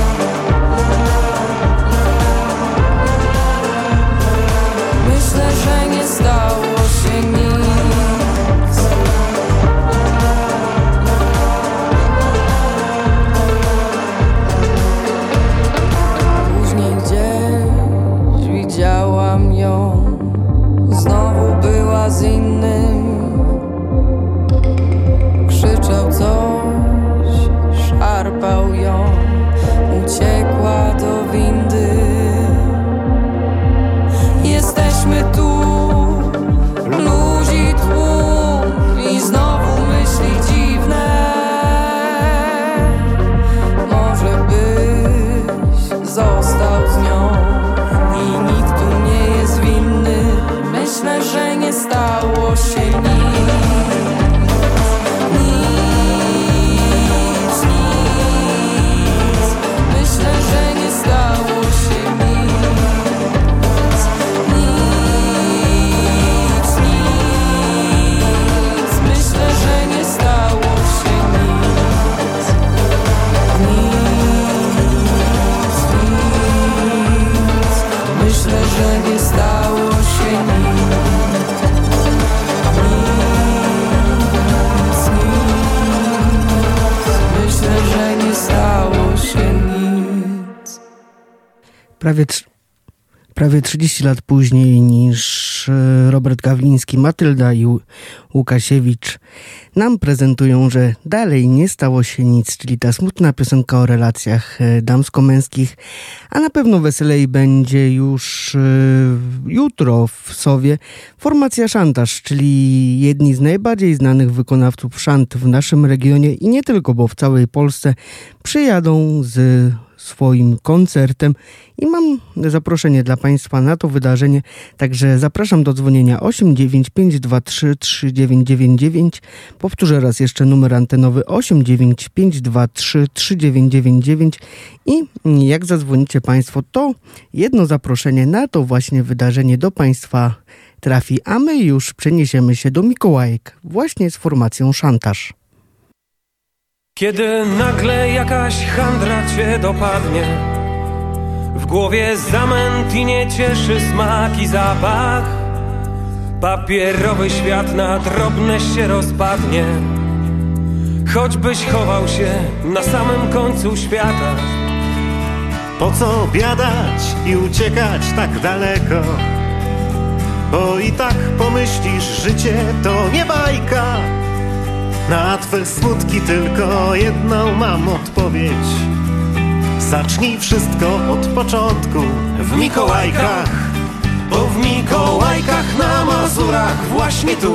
Myślę, że nie stało się nic. Później gdzieś widziałam ją, znowu była z innym. Krzyczał coś, szarpał ją, uciekła do windy. Jesteśmy tu, ludzi tłum, i znowu myśli dziwne. Może byś został z nią i nikt tu nie jest winny. Myślę, że nie stało się nic. Myślę, że nie stało się nic. Myślę, że nie stało się nic. Myślę, że nie stało się nic. Myślę, że nie stało się nic. Prawie 30 lat później niż Robert Gawliński, Matylda i Łukasiewicz nam prezentują, że dalej nie stało się nic, czyli ta smutna piosenka o relacjach damsko-męskich, a na pewno weselej będzie już jutro w Sowie formacja Szantaż, czyli jedni z najbardziej znanych wykonawców szant w naszym regionie i nie tylko, bo w całej Polsce przyjadą z swoim koncertem i mam zaproszenie dla Państwa na to wydarzenie, także zapraszam do dzwonienia 89523 3999. Powtórzę raz jeszcze numer antenowy 89523 3999 i jak zadzwonicie Państwo, to jedno zaproszenie na to właśnie wydarzenie do Państwa trafi, a my już przeniesiemy się do Mikołajek właśnie z formacją Szantaż. Kiedy nagle jakaś handra cię dopadnie, w głowie zamęt i nie cieszy smak i zapach, papierowy świat na drobne się rozpadnie, choćbyś chował się na samym końcu świata. Po co biadać i uciekać tak daleko? Bo i tak pomyślisz, życie to nie bajka. Na twe smutki tylko jedną mam odpowiedź. Zacznij wszystko od początku w Mikołajkach, bo w Mikołajkach na Mazurach właśnie tu.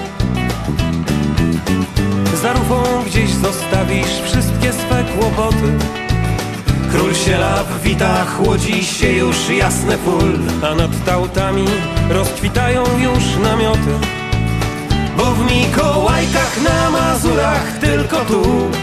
Za rufą gdzieś zostawisz wszystkie swe kłopoty. Król sielaw wita, chłodzi się już jasne pól, a nad tautami rozkwitają już namioty. Bo w Mikołajkach na Mazurach tylko tu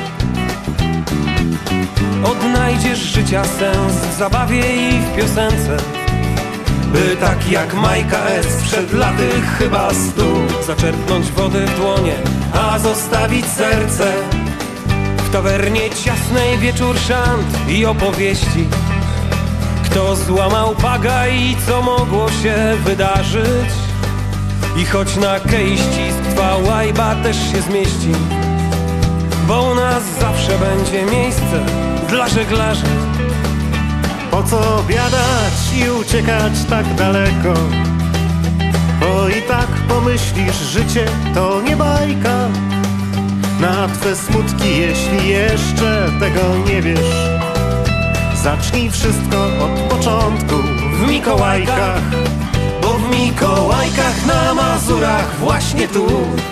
odnajdziesz życia sens w zabawie i w piosence, by tak jak Majka S. przed laty chyba 100 zaczerpnąć wody w dłonie, a zostawić serce. W tawernie ciasnej wieczór szant i opowieści, kto złamał paga i co mogło się wydarzyć. I choć na kej ścisk twa łajba też się zmieści, bo u nas zawsze będzie miejsce dla żeglarzy. Po co biadać i uciekać tak daleko? Bo i tak pomyślisz, życie to nie bajka. Na twe smutki, jeśli jeszcze tego nie wiesz, zacznij wszystko od początku w Mikołajkach, bo w Mikołajkach na Mazurach właśnie tu.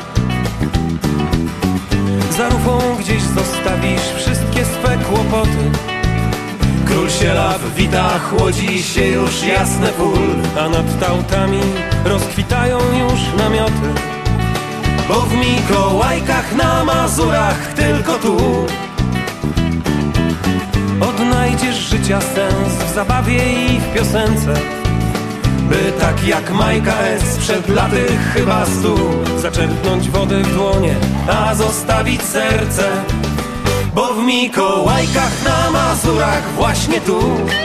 Za rufą gdzieś zostawisz wszystkie swe kłopoty. Król sielaw wita, chłodzi się już jasne pól, a nad tautami rozkwitają już namioty. Bo w Mikołajkach na Mazurach tylko tu odnajdziesz życia sens w zabawie i w piosence, by tak jak Majka S. przed laty chyba 100 zaczerpnąć wody w dłonie, a zostawić serce. Bo w Mikołajkach na Mazurach właśnie tu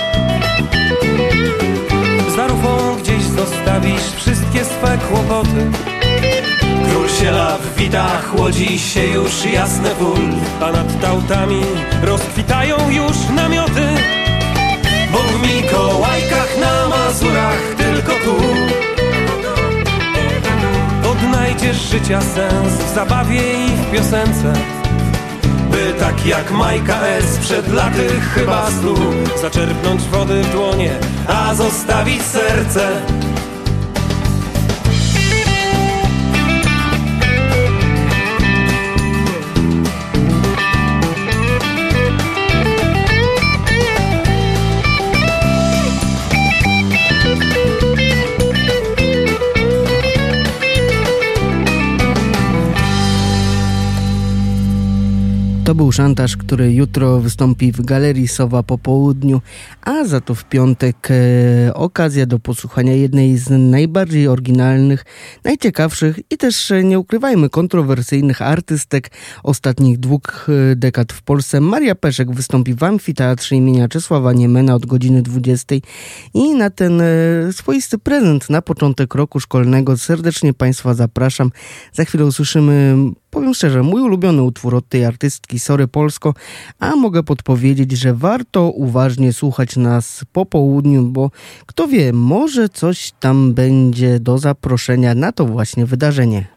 za rufą gdzieś zostawisz wszystkie swe kłopoty. Król sielaw wita, chłodzi się już jasne pól, a nad tautami rozkwitają już namioty. Bo w Mikołajkach na Mazurach tylko tu odnajdziesz życia sens w zabawie i w piosence, by tak jak Majka S. przed laty chyba 100 zaczerpnąć wody w dłonie, a zostawić serce. To był Szantaż, który jutro wystąpi w Galerii Sowa po południu, a za to w piątek okazja do posłuchania jednej z najbardziej oryginalnych, najciekawszych i też, nie ukrywajmy, kontrowersyjnych artystek ostatnich 2 dekad w Polsce. Maria Peszek wystąpi w Amfiteatrze imienia Czesława Niemena od godziny 20 i na ten swoisty prezent na początek roku szkolnego serdecznie Państwa zapraszam. Za chwilę usłyszymy, powiem szczerze, mój ulubiony utwór od tej artystki Sorry Polsko, a mogę podpowiedzieć, że warto uważnie słuchać nas po południu, bo kto wie, może coś tam będzie do zaproszenia na to właśnie wydarzenie.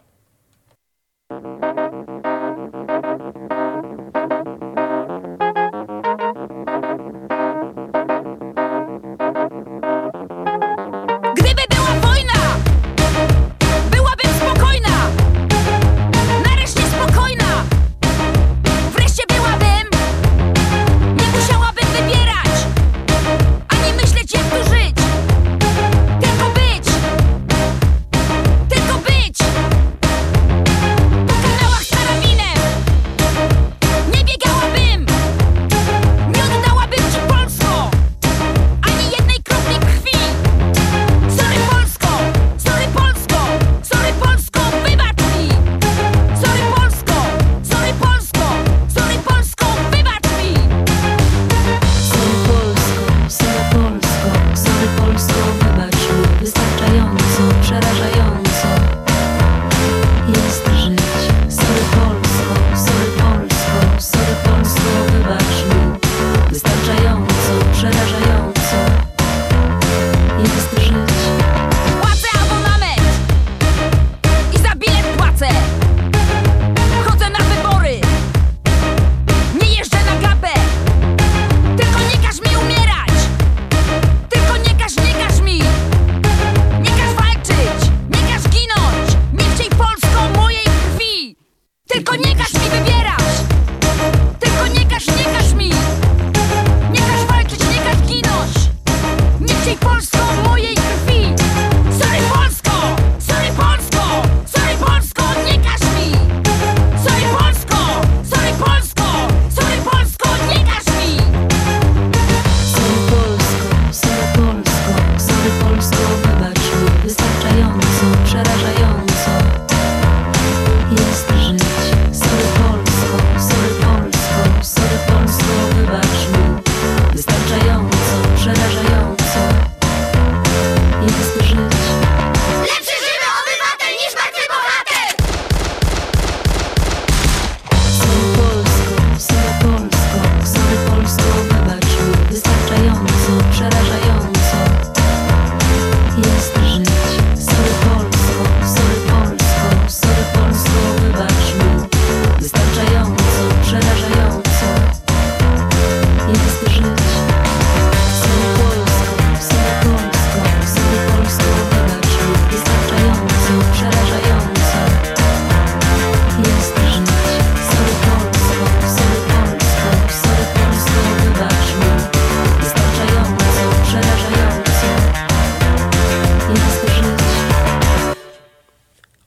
Gdyby była wojna, byłabym spokojna. Nareszcie spokojna. Wreszcie byłabym, nie musiałabym wybierać.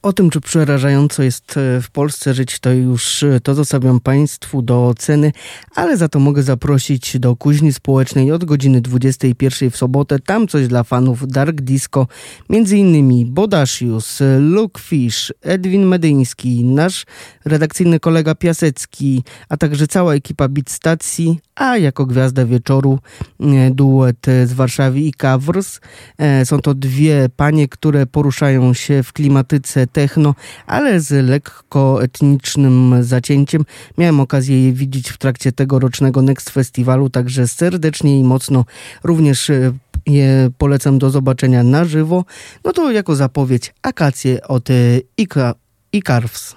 O tym, czy przerażająco jest w Polsce żyć, to zostawiam Państwu do oceny, ale za to mogę zaprosić do Kuźni Społecznej od godziny 21 w sobotę. Tam coś dla fanów Dark Disco, między innymi Bodasius, Luke Fish, Edwin Medyński, nasz redakcyjny kolega Piasecki, a także cała ekipa Beat Stacji, a jako gwiazda wieczoru duet z Warszawy i Covers. Są to dwie panie, które poruszają się w klimatyce techno, ale z lekko etnicznym zacięciem. Miałem okazję je widzieć w trakcie tegorocznego Next Festiwalu, także serdecznie i mocno również je polecam do zobaczenia na żywo. No to jako zapowiedź Akacje od Icarves.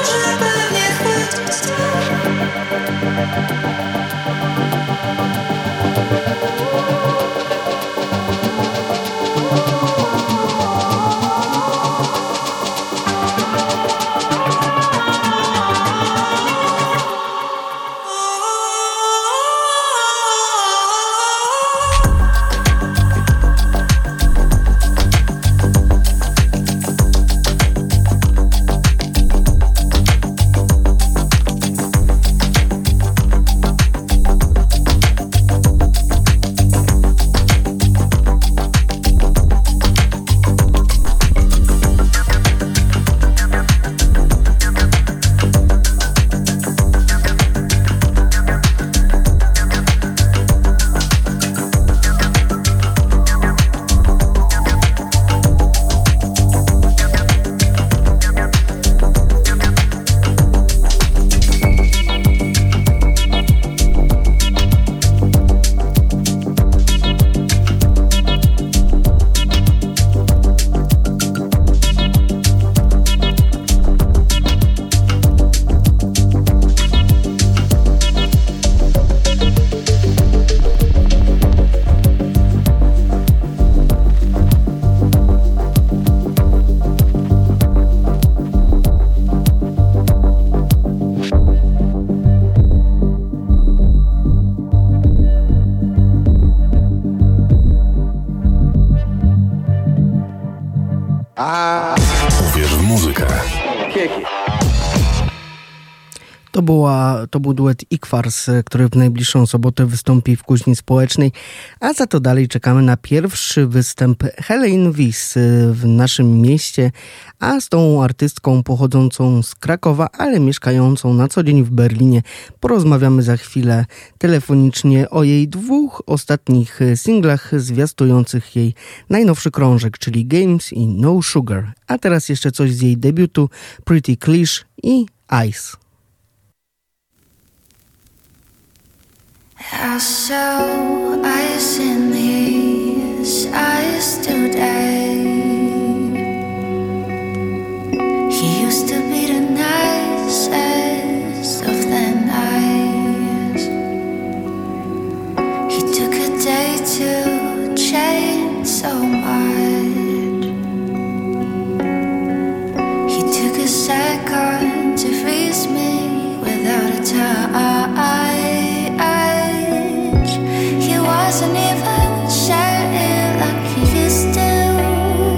może pewnie chwyt. Uwierz w muzykę. To był duet Ikwars, który w najbliższą sobotę wystąpi w Kuźni Społecznej, a za to dalej czekamy na pierwszy występ Helene Wyss w naszym mieście, a z tą artystką pochodzącą z Krakowa, ale mieszkającą na co dzień w Berlinie porozmawiamy za chwilę telefonicznie o jej 2 ostatnich singlach zwiastujących jej najnowszy krążek, czyli Games i No Sugar. A teraz jeszcze coś z jej debiutu Pretty Cliché i Ice. I saw ice in his eyes today. He used to be the nicest of the nice. He took a day to change so much. He took a second to freeze me without a touch. He wasn't even sure like he used to.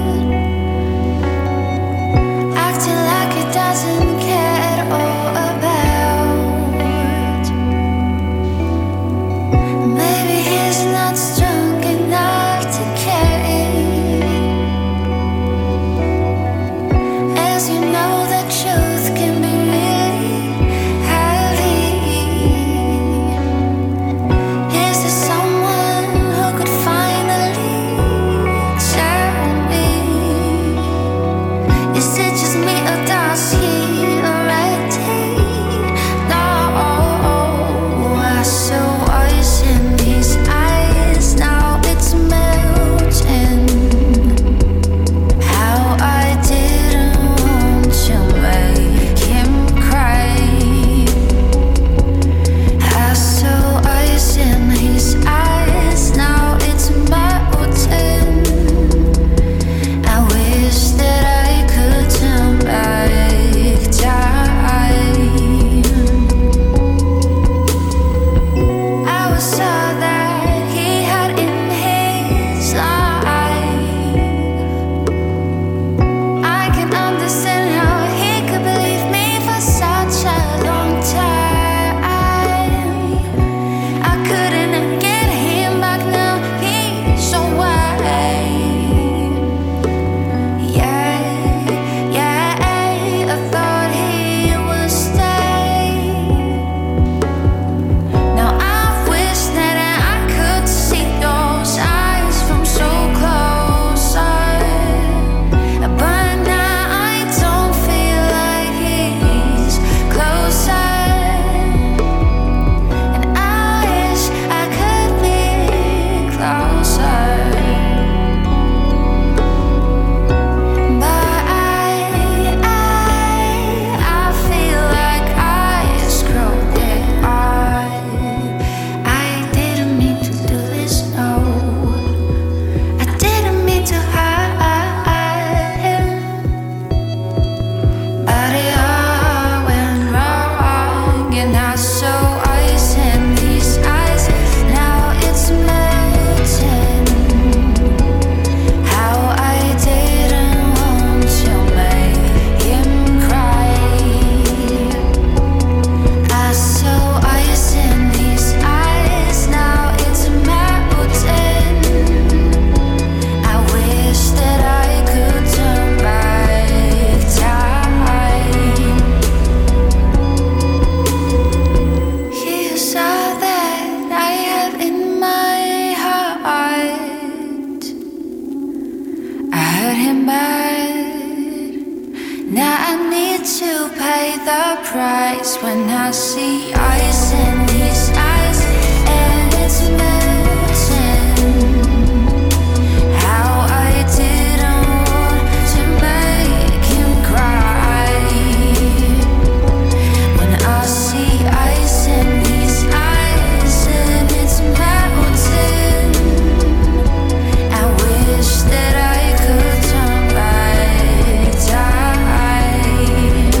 the price when I see ice in these eyes and it's melting. How I didn't want to make him cry when I see ice in these eyes and it's melting. I wish that I could turn back time.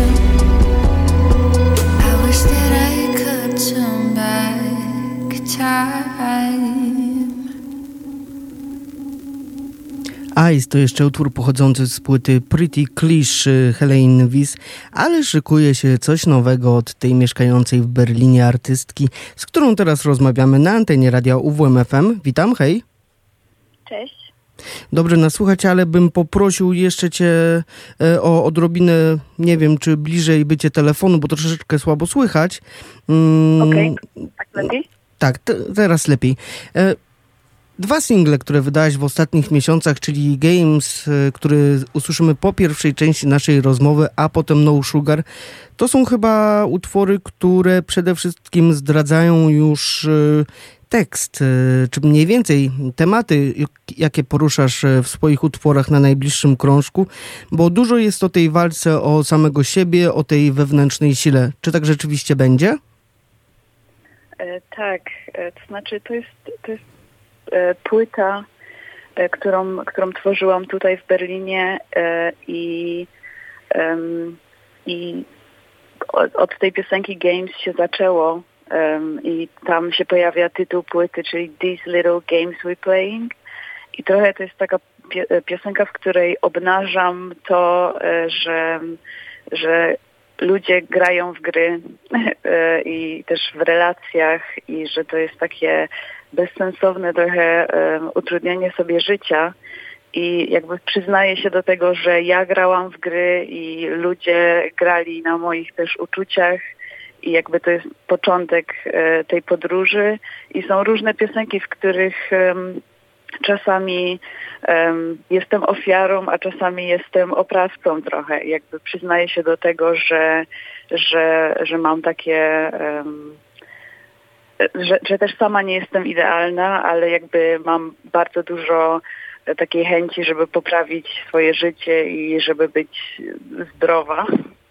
I wish that I could turn back time. Ice to jeszcze utwór pochodzący z płyty Pretty Cliché Helene Weiss, ale szykuje się coś nowego od tej mieszkającej w Berlinie artystki, z którą teraz rozmawiamy na antenie radia UWM FM. Witam, hej. Cześć. Dobrze nas słuchać, ale bym poprosił jeszcze cię o odrobinę, nie wiem, czy bliżej bycie telefonu, bo troszeczkę słabo słychać. Okej, tak lepiej? Tak, teraz lepiej. Dwa single, które wydałaś w ostatnich miesiącach, czyli Games, który usłyszymy po pierwszej części naszej rozmowy, a potem No Sugar, to są chyba utwory, które przede wszystkim zdradzają już tekst, czy mniej więcej tematy, jakie poruszasz w swoich utworach na najbliższym krążku, bo dużo jest o tej walce o samego siebie, o tej wewnętrznej sile. Czy tak rzeczywiście będzie? Tak, to znaczy to jest płyta, którą tworzyłam tutaj w Berlinie i od tej piosenki Games się zaczęło i tam się pojawia tytuł płyty, czyli These Little Games We Playing i trochę to jest taka piosenka, w której obnażam to, że ludzie grają w gry i też w relacjach i że to jest takie bezsensowne trochę utrudnianie sobie życia i jakby przyznaję się do tego, że ja grałam w gry i ludzie grali na moich też uczuciach i jakby to jest początek tej podróży i są różne piosenki, w których czasami jestem ofiarą, a czasami jestem oprawcą trochę. Jakby przyznaję się do tego, że mam takie, że też sama nie jestem idealna, ale jakby mam bardzo dużo takiej chęci, żeby poprawić swoje życie i żeby być zdrowa.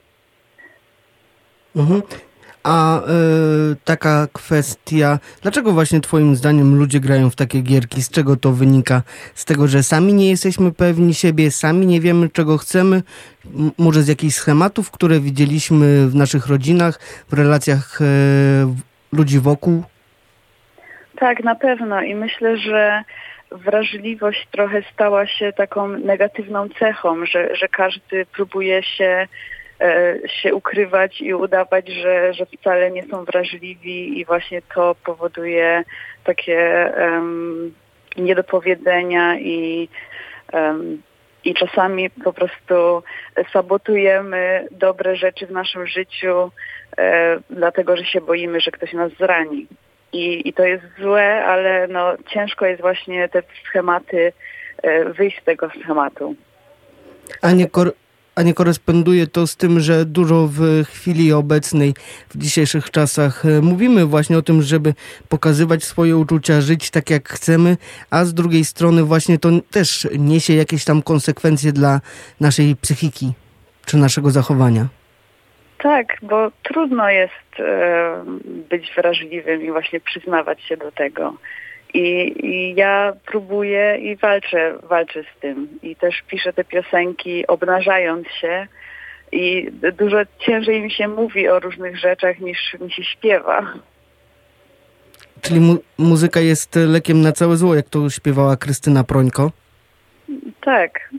Mhm. A taka kwestia, dlaczego właśnie twoim zdaniem ludzie grają w takie gierki? Z czego to wynika? Z tego, że sami nie jesteśmy pewni siebie, sami nie wiemy, czego chcemy? Może z jakichś schematów, które widzieliśmy w naszych rodzinach, w relacjach ludzi wokół? Tak, na pewno i myślę, że wrażliwość trochę stała się taką negatywną cechą, że każdy próbuje się ukrywać i udawać, że wcale nie są wrażliwi i właśnie to powoduje takie niedopowiedzenia i czasami po prostu sabotujemy dobre rzeczy w naszym życiu, dlatego że się boimy, że ktoś nas zrani. I to jest złe, ale no, ciężko jest właśnie te schematy, wyjść z tego schematu. A nie koresponduje to z tym, że dużo w chwili obecnej, w dzisiejszych czasach mówimy właśnie o tym, żeby pokazywać swoje uczucia, żyć tak jak chcemy, a z drugiej strony właśnie to też niesie jakieś tam konsekwencje dla naszej psychiki czy naszego zachowania. Tak, bo trudno jest być wrażliwym i właśnie przyznawać się do tego. I ja próbuję i walczę z tym. I też piszę te piosenki obnażając się i dużo ciężej mi się mówi o różnych rzeczach niż mi się śpiewa. Czyli muzyka jest lekiem na całe zło, jak to śpiewała Krystyna Prońko? Tak.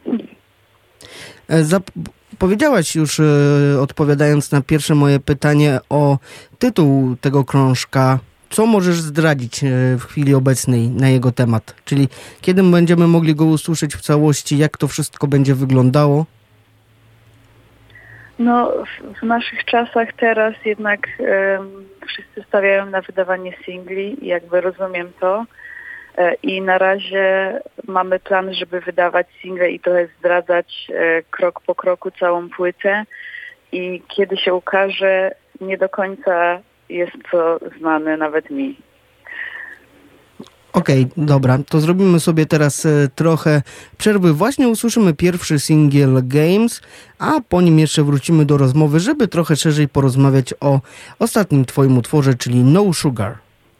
Powiedziałaś już, odpowiadając na pierwsze moje pytanie o tytuł tego krążka. Co możesz zdradzić w chwili obecnej na jego temat? Czyli kiedy będziemy mogli go usłyszeć w całości? Jak to wszystko będzie wyglądało? No, w naszych czasach teraz jednak wszyscy stawiają na wydawanie singli i jakby rozumiem to. I na razie mamy plan, żeby wydawać single i trochę zdradzać krok po kroku całą płytę. i kiedy się ukaże, nie do końca jest to znane nawet mi. Okej, dobra, to zrobimy sobie teraz trochę przerwy. Właśnie usłyszymy pierwszy singiel Games, a po nim jeszcze wrócimy do rozmowy, żeby trochę szerzej porozmawiać o ostatnim twoim utworze, czyli No Sugar.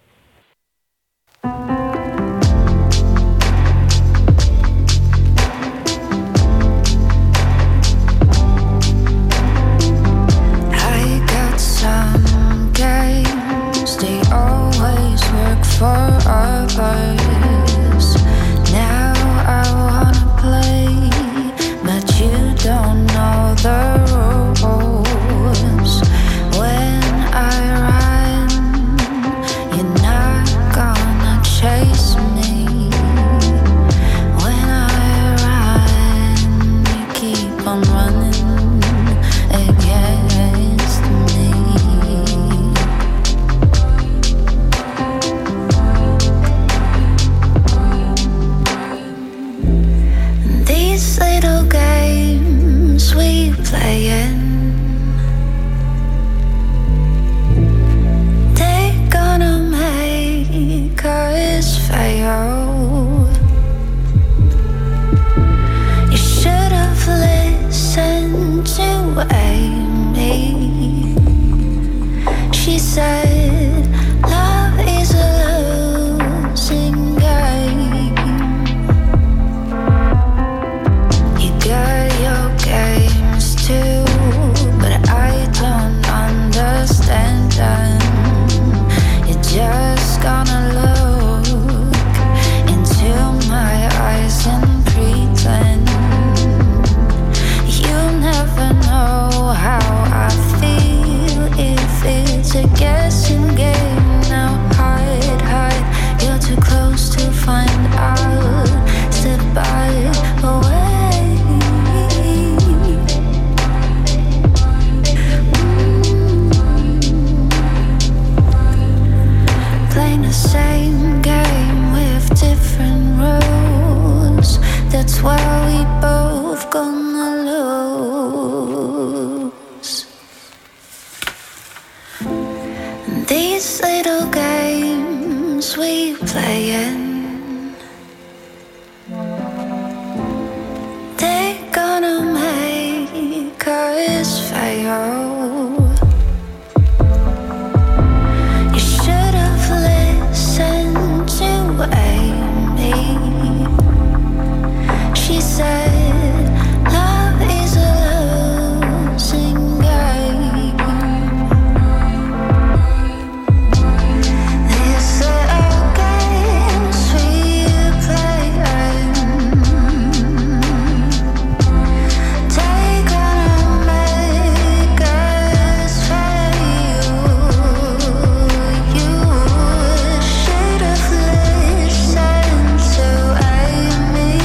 I got some games, they always work for others. Now I wanna play, but you don't know the rules. When I run, you're not gonna chase me. When I run, you keep on running against me. These little games we playing, they're gonna make us fail. You should have listened to Amy. She said love is a losing game. You got your games too, but I don't understand them. You're just gonna look into my eyes and pretend. You never know how I feel if it's a guessing game. Now hide, hide, you're too close to find out. Step by away. Playing the same game with different rules. That's where we both gonna lose. These little games we playing, they're gonna make us fail. You should have listened to Amy. She said love is a losing game. These little games we play, they're gonna make us fail. You should have listened to Amy.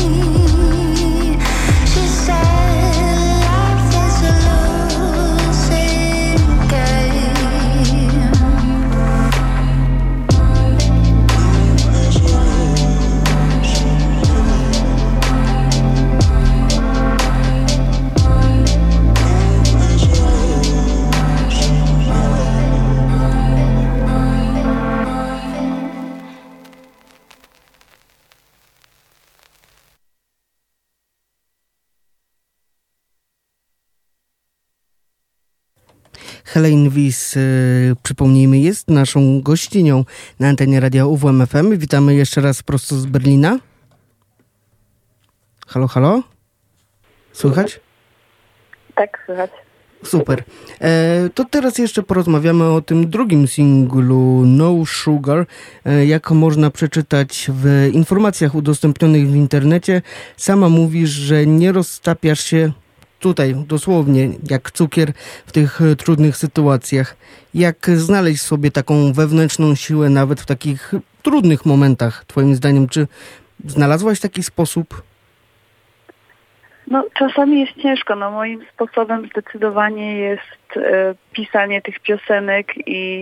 She said life is a losing game. Helene Wies, przypomnijmy, jest naszą gościnią na antenie radia UWM FM. Witamy jeszcze raz prosto z Berlina. Halo, halo? Słychać? Tak, słychać. Super. To teraz jeszcze porozmawiamy o tym drugim singlu No Sugar. Jak można przeczytać w informacjach udostępnionych w internecie, sama mówisz, że nie roztapiasz się tutaj dosłownie jak cukier w tych trudnych sytuacjach. Jak znaleźć sobie taką wewnętrzną siłę nawet w takich trudnych momentach, twoim zdaniem? Czy znalazłaś taki sposób? No, czasami jest ciężko. No, moim sposobem zdecydowanie jest pisanie tych piosenek i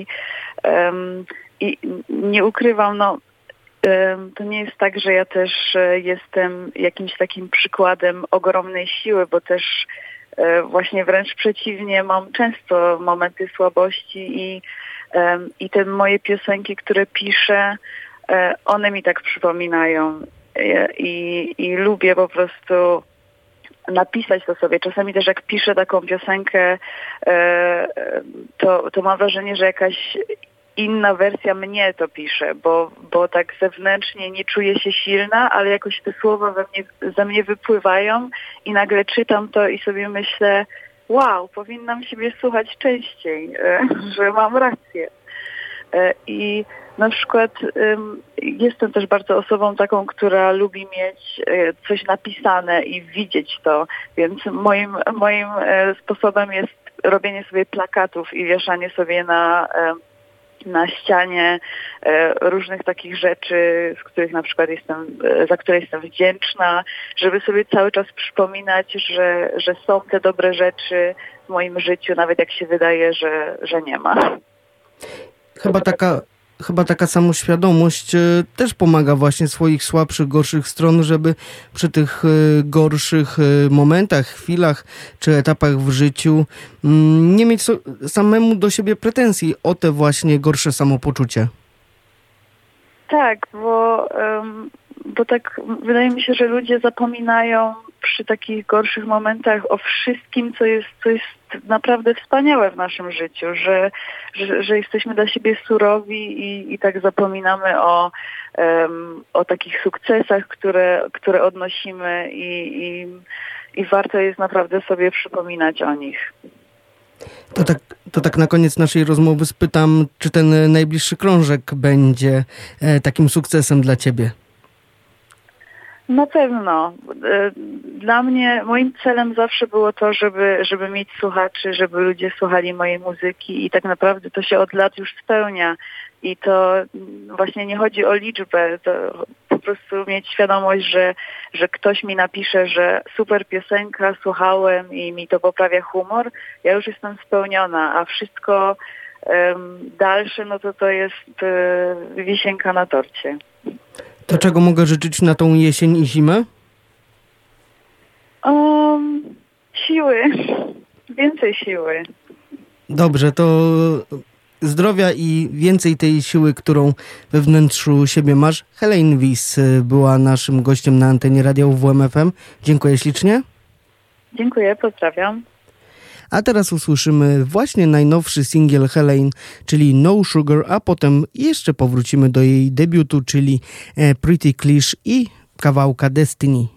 nie ukrywam, no, to nie jest tak, że ja też jestem jakimś takim przykładem ogromnej siły, bo też właśnie wręcz przeciwnie, mam często momenty słabości i te moje piosenki, które piszę, one mi tak przypominają i lubię po prostu napisać to sobie. Czasami też jak piszę taką piosenkę, to mam wrażenie, że jakaś inna wersja mnie to pisze, bo tak zewnętrznie nie czuję się silna, ale jakoś te słowa ze mnie wypływają i nagle czytam to i sobie myślę, wow, powinnam siebie słuchać częściej, że mam rację. I na przykład jestem też bardzo osobą taką, która lubi mieć coś napisane i widzieć to, więc moim sposobem jest robienie sobie plakatów i wieszanie sobie na ścianie różnych takich rzeczy, z których na przykład za które jestem wdzięczna, żeby sobie cały czas przypominać, że są te dobre rzeczy w moim życiu, nawet jak się wydaje, że nie ma. Chyba taka samoświadomość też pomaga właśnie swoich słabszych, gorszych stron, żeby przy tych gorszych momentach, chwilach czy etapach w życiu nie mieć samemu do siebie pretensji o te właśnie gorsze samopoczucie. Tak, bo tak wydaje mi się, że ludzie zapominają przy takich gorszych momentach o wszystkim, co jest naprawdę wspaniałe w naszym życiu, że jesteśmy dla siebie surowi i tak zapominamy o takich sukcesach, które odnosimy i warto jest naprawdę sobie przypominać o nich. To tak na koniec naszej rozmowy spytam, czy ten najbliższy krążek będzie takim sukcesem dla ciebie? Na pewno. Dla mnie, moim celem zawsze było to, żeby mieć słuchaczy, żeby ludzie słuchali mojej muzyki i tak naprawdę to się od lat już spełnia. I to właśnie nie chodzi o liczbę, to po prostu mieć świadomość, że ktoś mi napisze, że super piosenka, słuchałem i mi to poprawia humor. Ja już jestem spełniona, a wszystko dalsze, no to jest wisienka na torcie. To czego mogę życzyć na tą jesień i zimę? Siły. Więcej siły. Dobrze, to zdrowia i więcej tej siły, którą we wnętrzu siebie masz. Helene Wiss była naszym gościem na antenie Radia UWM FM. Dziękuję ślicznie. Dziękuję, pozdrawiam. A teraz usłyszymy właśnie najnowszy singiel Helene, czyli No Sugar, a potem jeszcze powrócimy do jej debiutu, czyli Pretty Cliché i kawałka Destiny.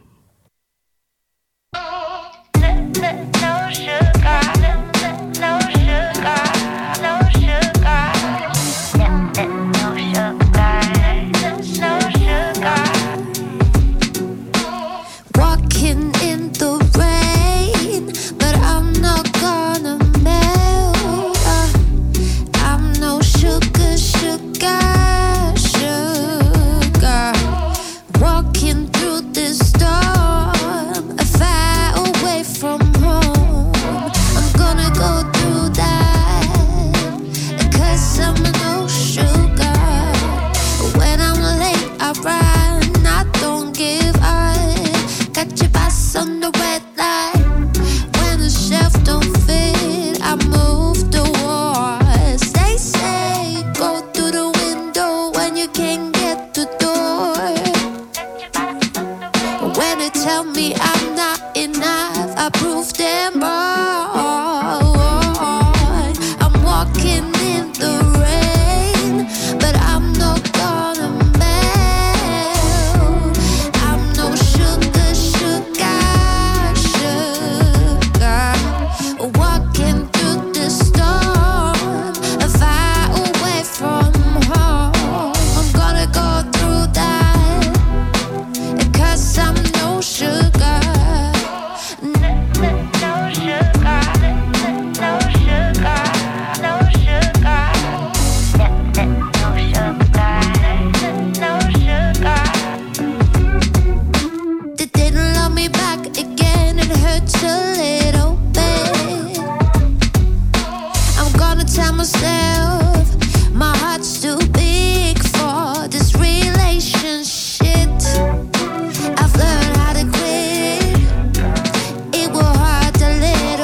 It was hard to let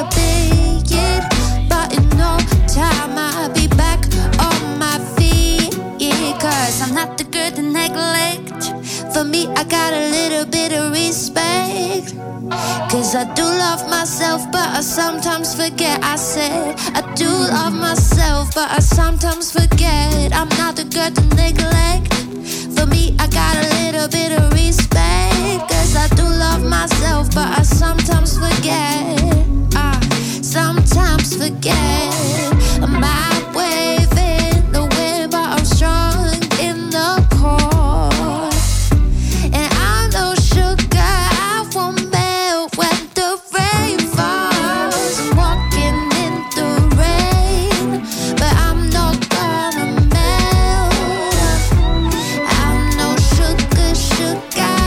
me, I got a little bit of respect. Cause I do love myself, but I sometimes forget. I said I do love myself, but I sometimes forget. I'm not the girl to neglect. For me, I got a little bit of respect. Cause I do love myself, but I sometimes forget. Sometimes forget. My wave in the wind, but I'm strong in the core. And I know sugar, I won't melt when the rain falls. I'm walking in the rain, but I'm not gonna melt. I know sugar, sugar,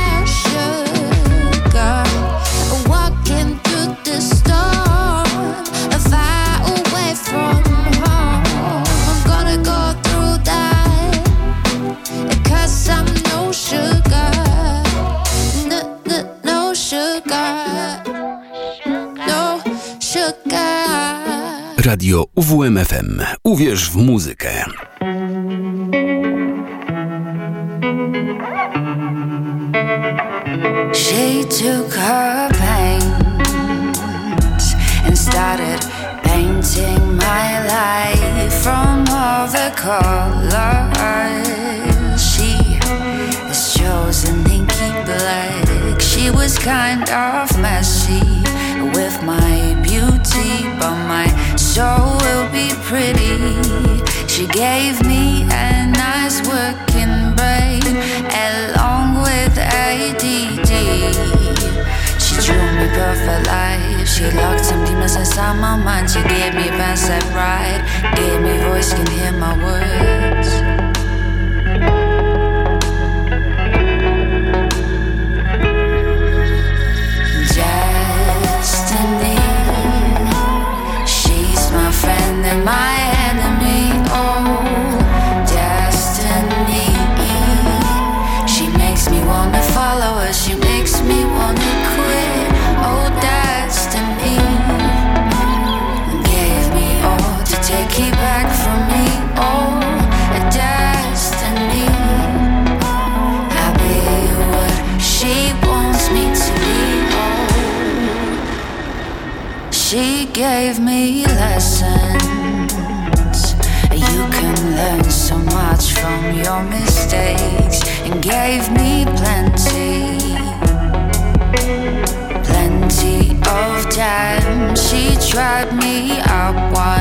sugar. Walking through the storm, far away from home. I'm gonna go through that, 'cause I'm no sugar. No sugar. No sugar. Radio UWMFM. Uwierz w muzykę. She took her paint and started painting my life from all the colors. She has chosen inky black. She was kind of messy with my beauty, but my soul will be pretty. She gave me a nice working brain along with ADD. She drew me perfect life. She locked some demons inside my mind. She gave me a bedside ride, gave me voice, can hear my words. Destiny, she's my friend and my enemy. Oh, destiny, she makes me wanna follow her. She makes me wanna quit. Oh, destiny gave me all to take it back from me. Oh, destiny, I'll be what she wants me to be. Oh, she gave me lessons. You can learn so much from your mistakes, and gave me plenty of time. She tried me out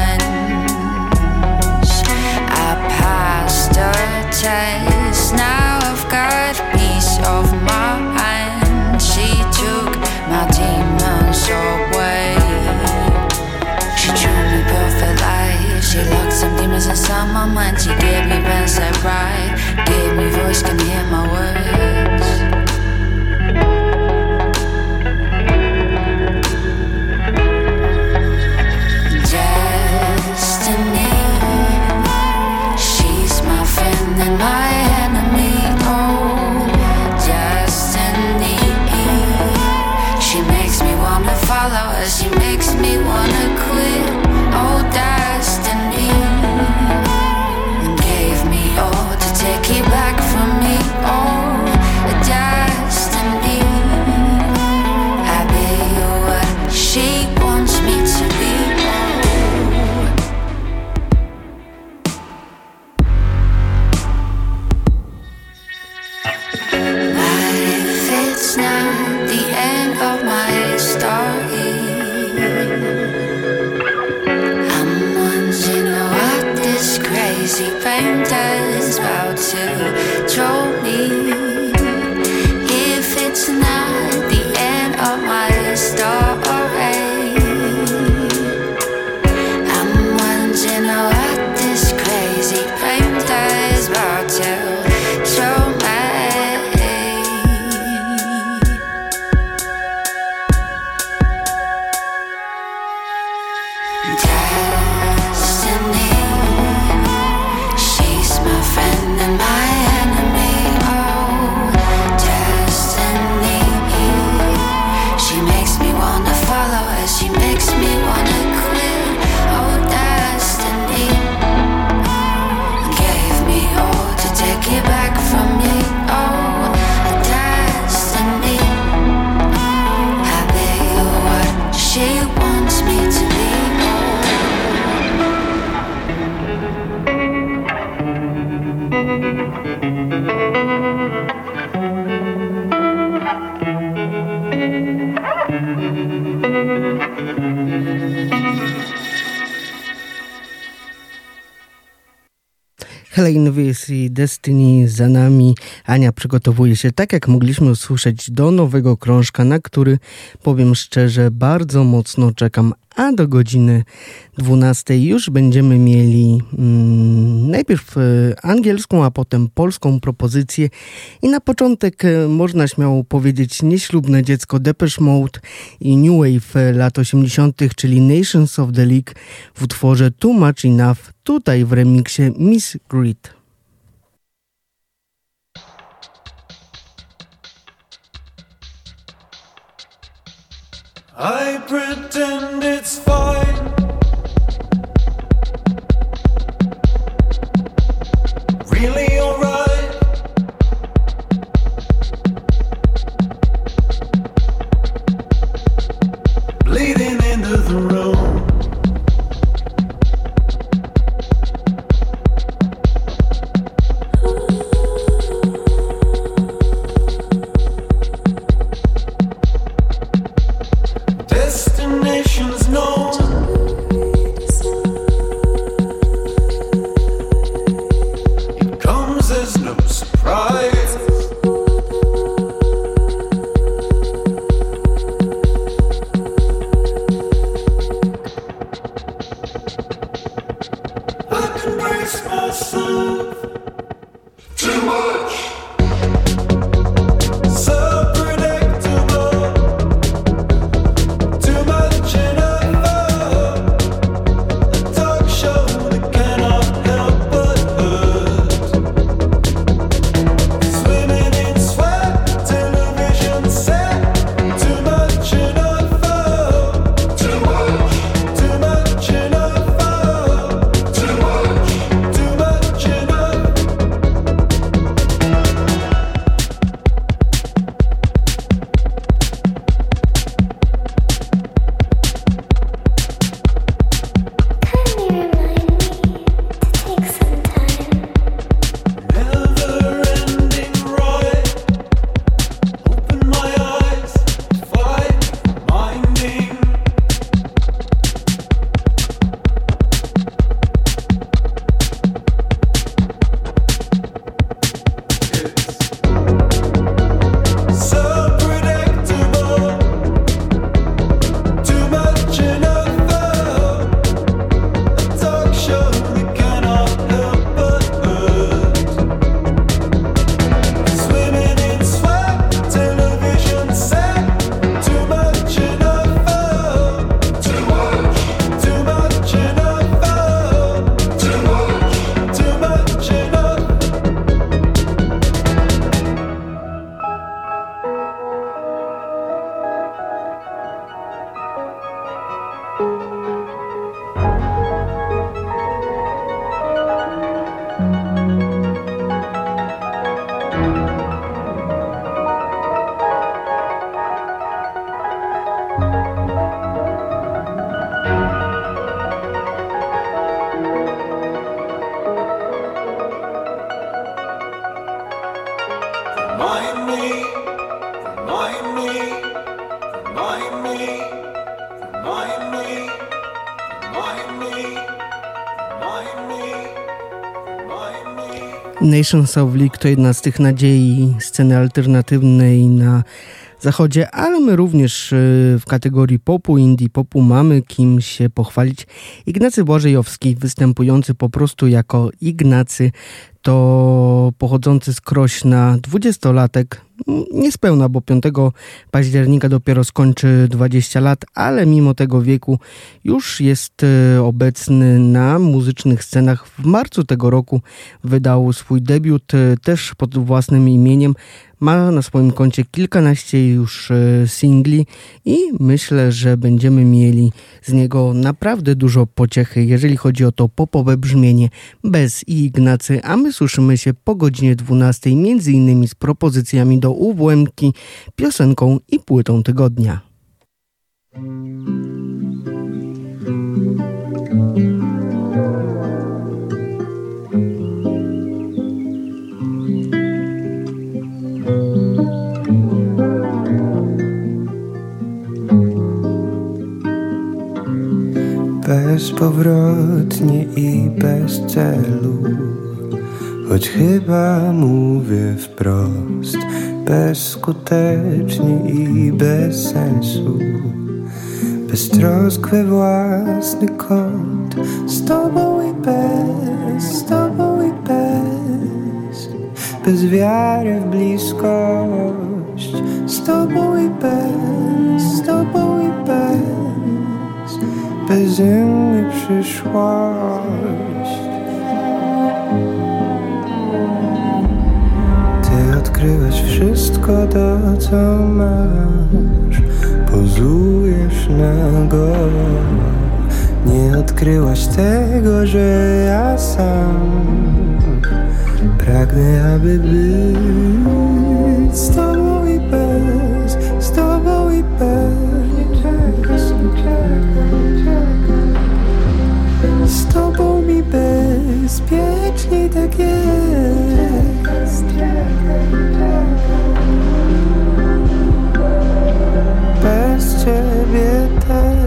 once. I passed her test. Now I've got peace of mind. She took my demons away. She drew me perfect life. She locked some demons inside my mind. She gave me bedside ride, gave me voice, can hear my words. Destiny, she's my friend and my enemy. Oh, destiny, she makes me wanna follow her. She makes me wanna quit. Oh, destiny gave me all to take it back from me. Oh, Helene Weiss i Destiny za nami. Ania przygotowuje się, tak jak mogliśmy usłyszeć, do nowego krążka, na który, powiem szczerze, bardzo mocno czekam. A do godziny 12 już będziemy mieli najpierw angielską, a potem polską propozycję. I na początek można śmiało powiedzieć nieślubne dziecko Depeche Mode i New Wave lat 80., czyli Nations of the League w utworze Too Much Enough, tutaj w remiksie Miss Grit. I pretend it's fine. Really alright. Bleeding into the room. Destinations known. It comes as no surprise. I can brace myself. Too much. So predictable. Too much enough. A talk show that cannot help but hurt. Swimming in sweat, television set. Too much enough. Too much. Too much enough. Too much. Too much enough. Never-ending ride. Open my eyes, fight, minding. So predictable. Too much enough. A talk show that cannot help but hurt. Swimming in sweat, television set. Too much enough. Too much. Too much enough. Too much. Too much enough. Remind me, remind me, remind me, remind me, remind me, remind me, remind me. Nations of League to jedna z tych nadziei sceny alternatywnej na zachodzie, ale my również w kategorii popu, indie popu mamy kim się pochwalić. Ignacy Błażejowski, występujący po prostu jako Ignacy, to pochodzący z Krośna 20-latek, niespełna, bo 5 października dopiero skończy 20 lat, ale mimo tego wieku już jest obecny na muzycznych scenach. W marcu tego roku wydał swój debiut też pod własnym imieniem. Ma na swoim koncie kilkanaście już singli i myślę, że będziemy mieli z niego naprawdę dużo pociechy, jeżeli chodzi o to popowe brzmienie bez i Ignacy, a my słyszymy się po godzinie 12, między innymi z propozycjami do UWM-ki, piosenką i płytą tygodnia. Bezpowrotnie i bez celu choć chyba mówię wprost, bezskutecznie i bez sensu. Beztroskwy własny kąt, z tobą i bez, bez wiary w bliskość, z tobą i bez, beze mnie przyszłość. Ty odkryłeś wszystko to, co masz, pozujesz nago. Nie odkryłaś tego, że ja sam pragnę, aby być z tobą i bez, z tobą i bez, z tobą mi bezpiecznie tak jest. Bez ciebie też.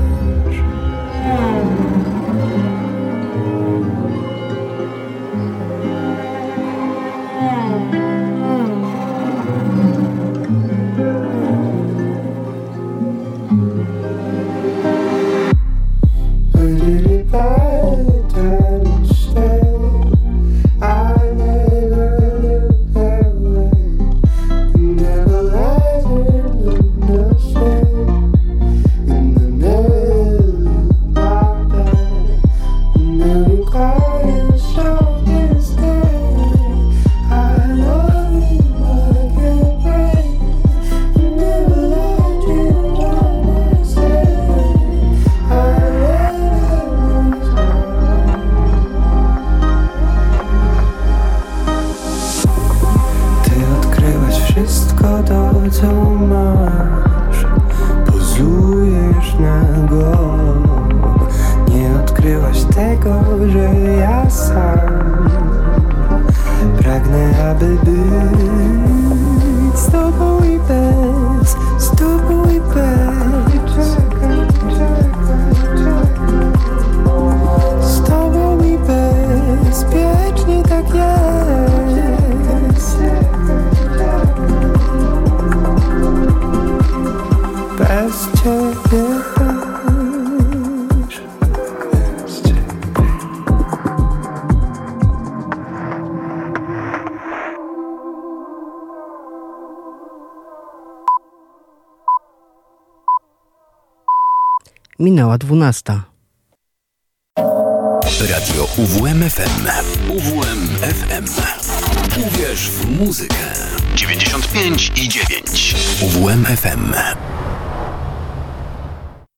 Minęła 12. Radio UWMFM. UWMFM. Uwierz w muzykę. 95,9. UWMFM.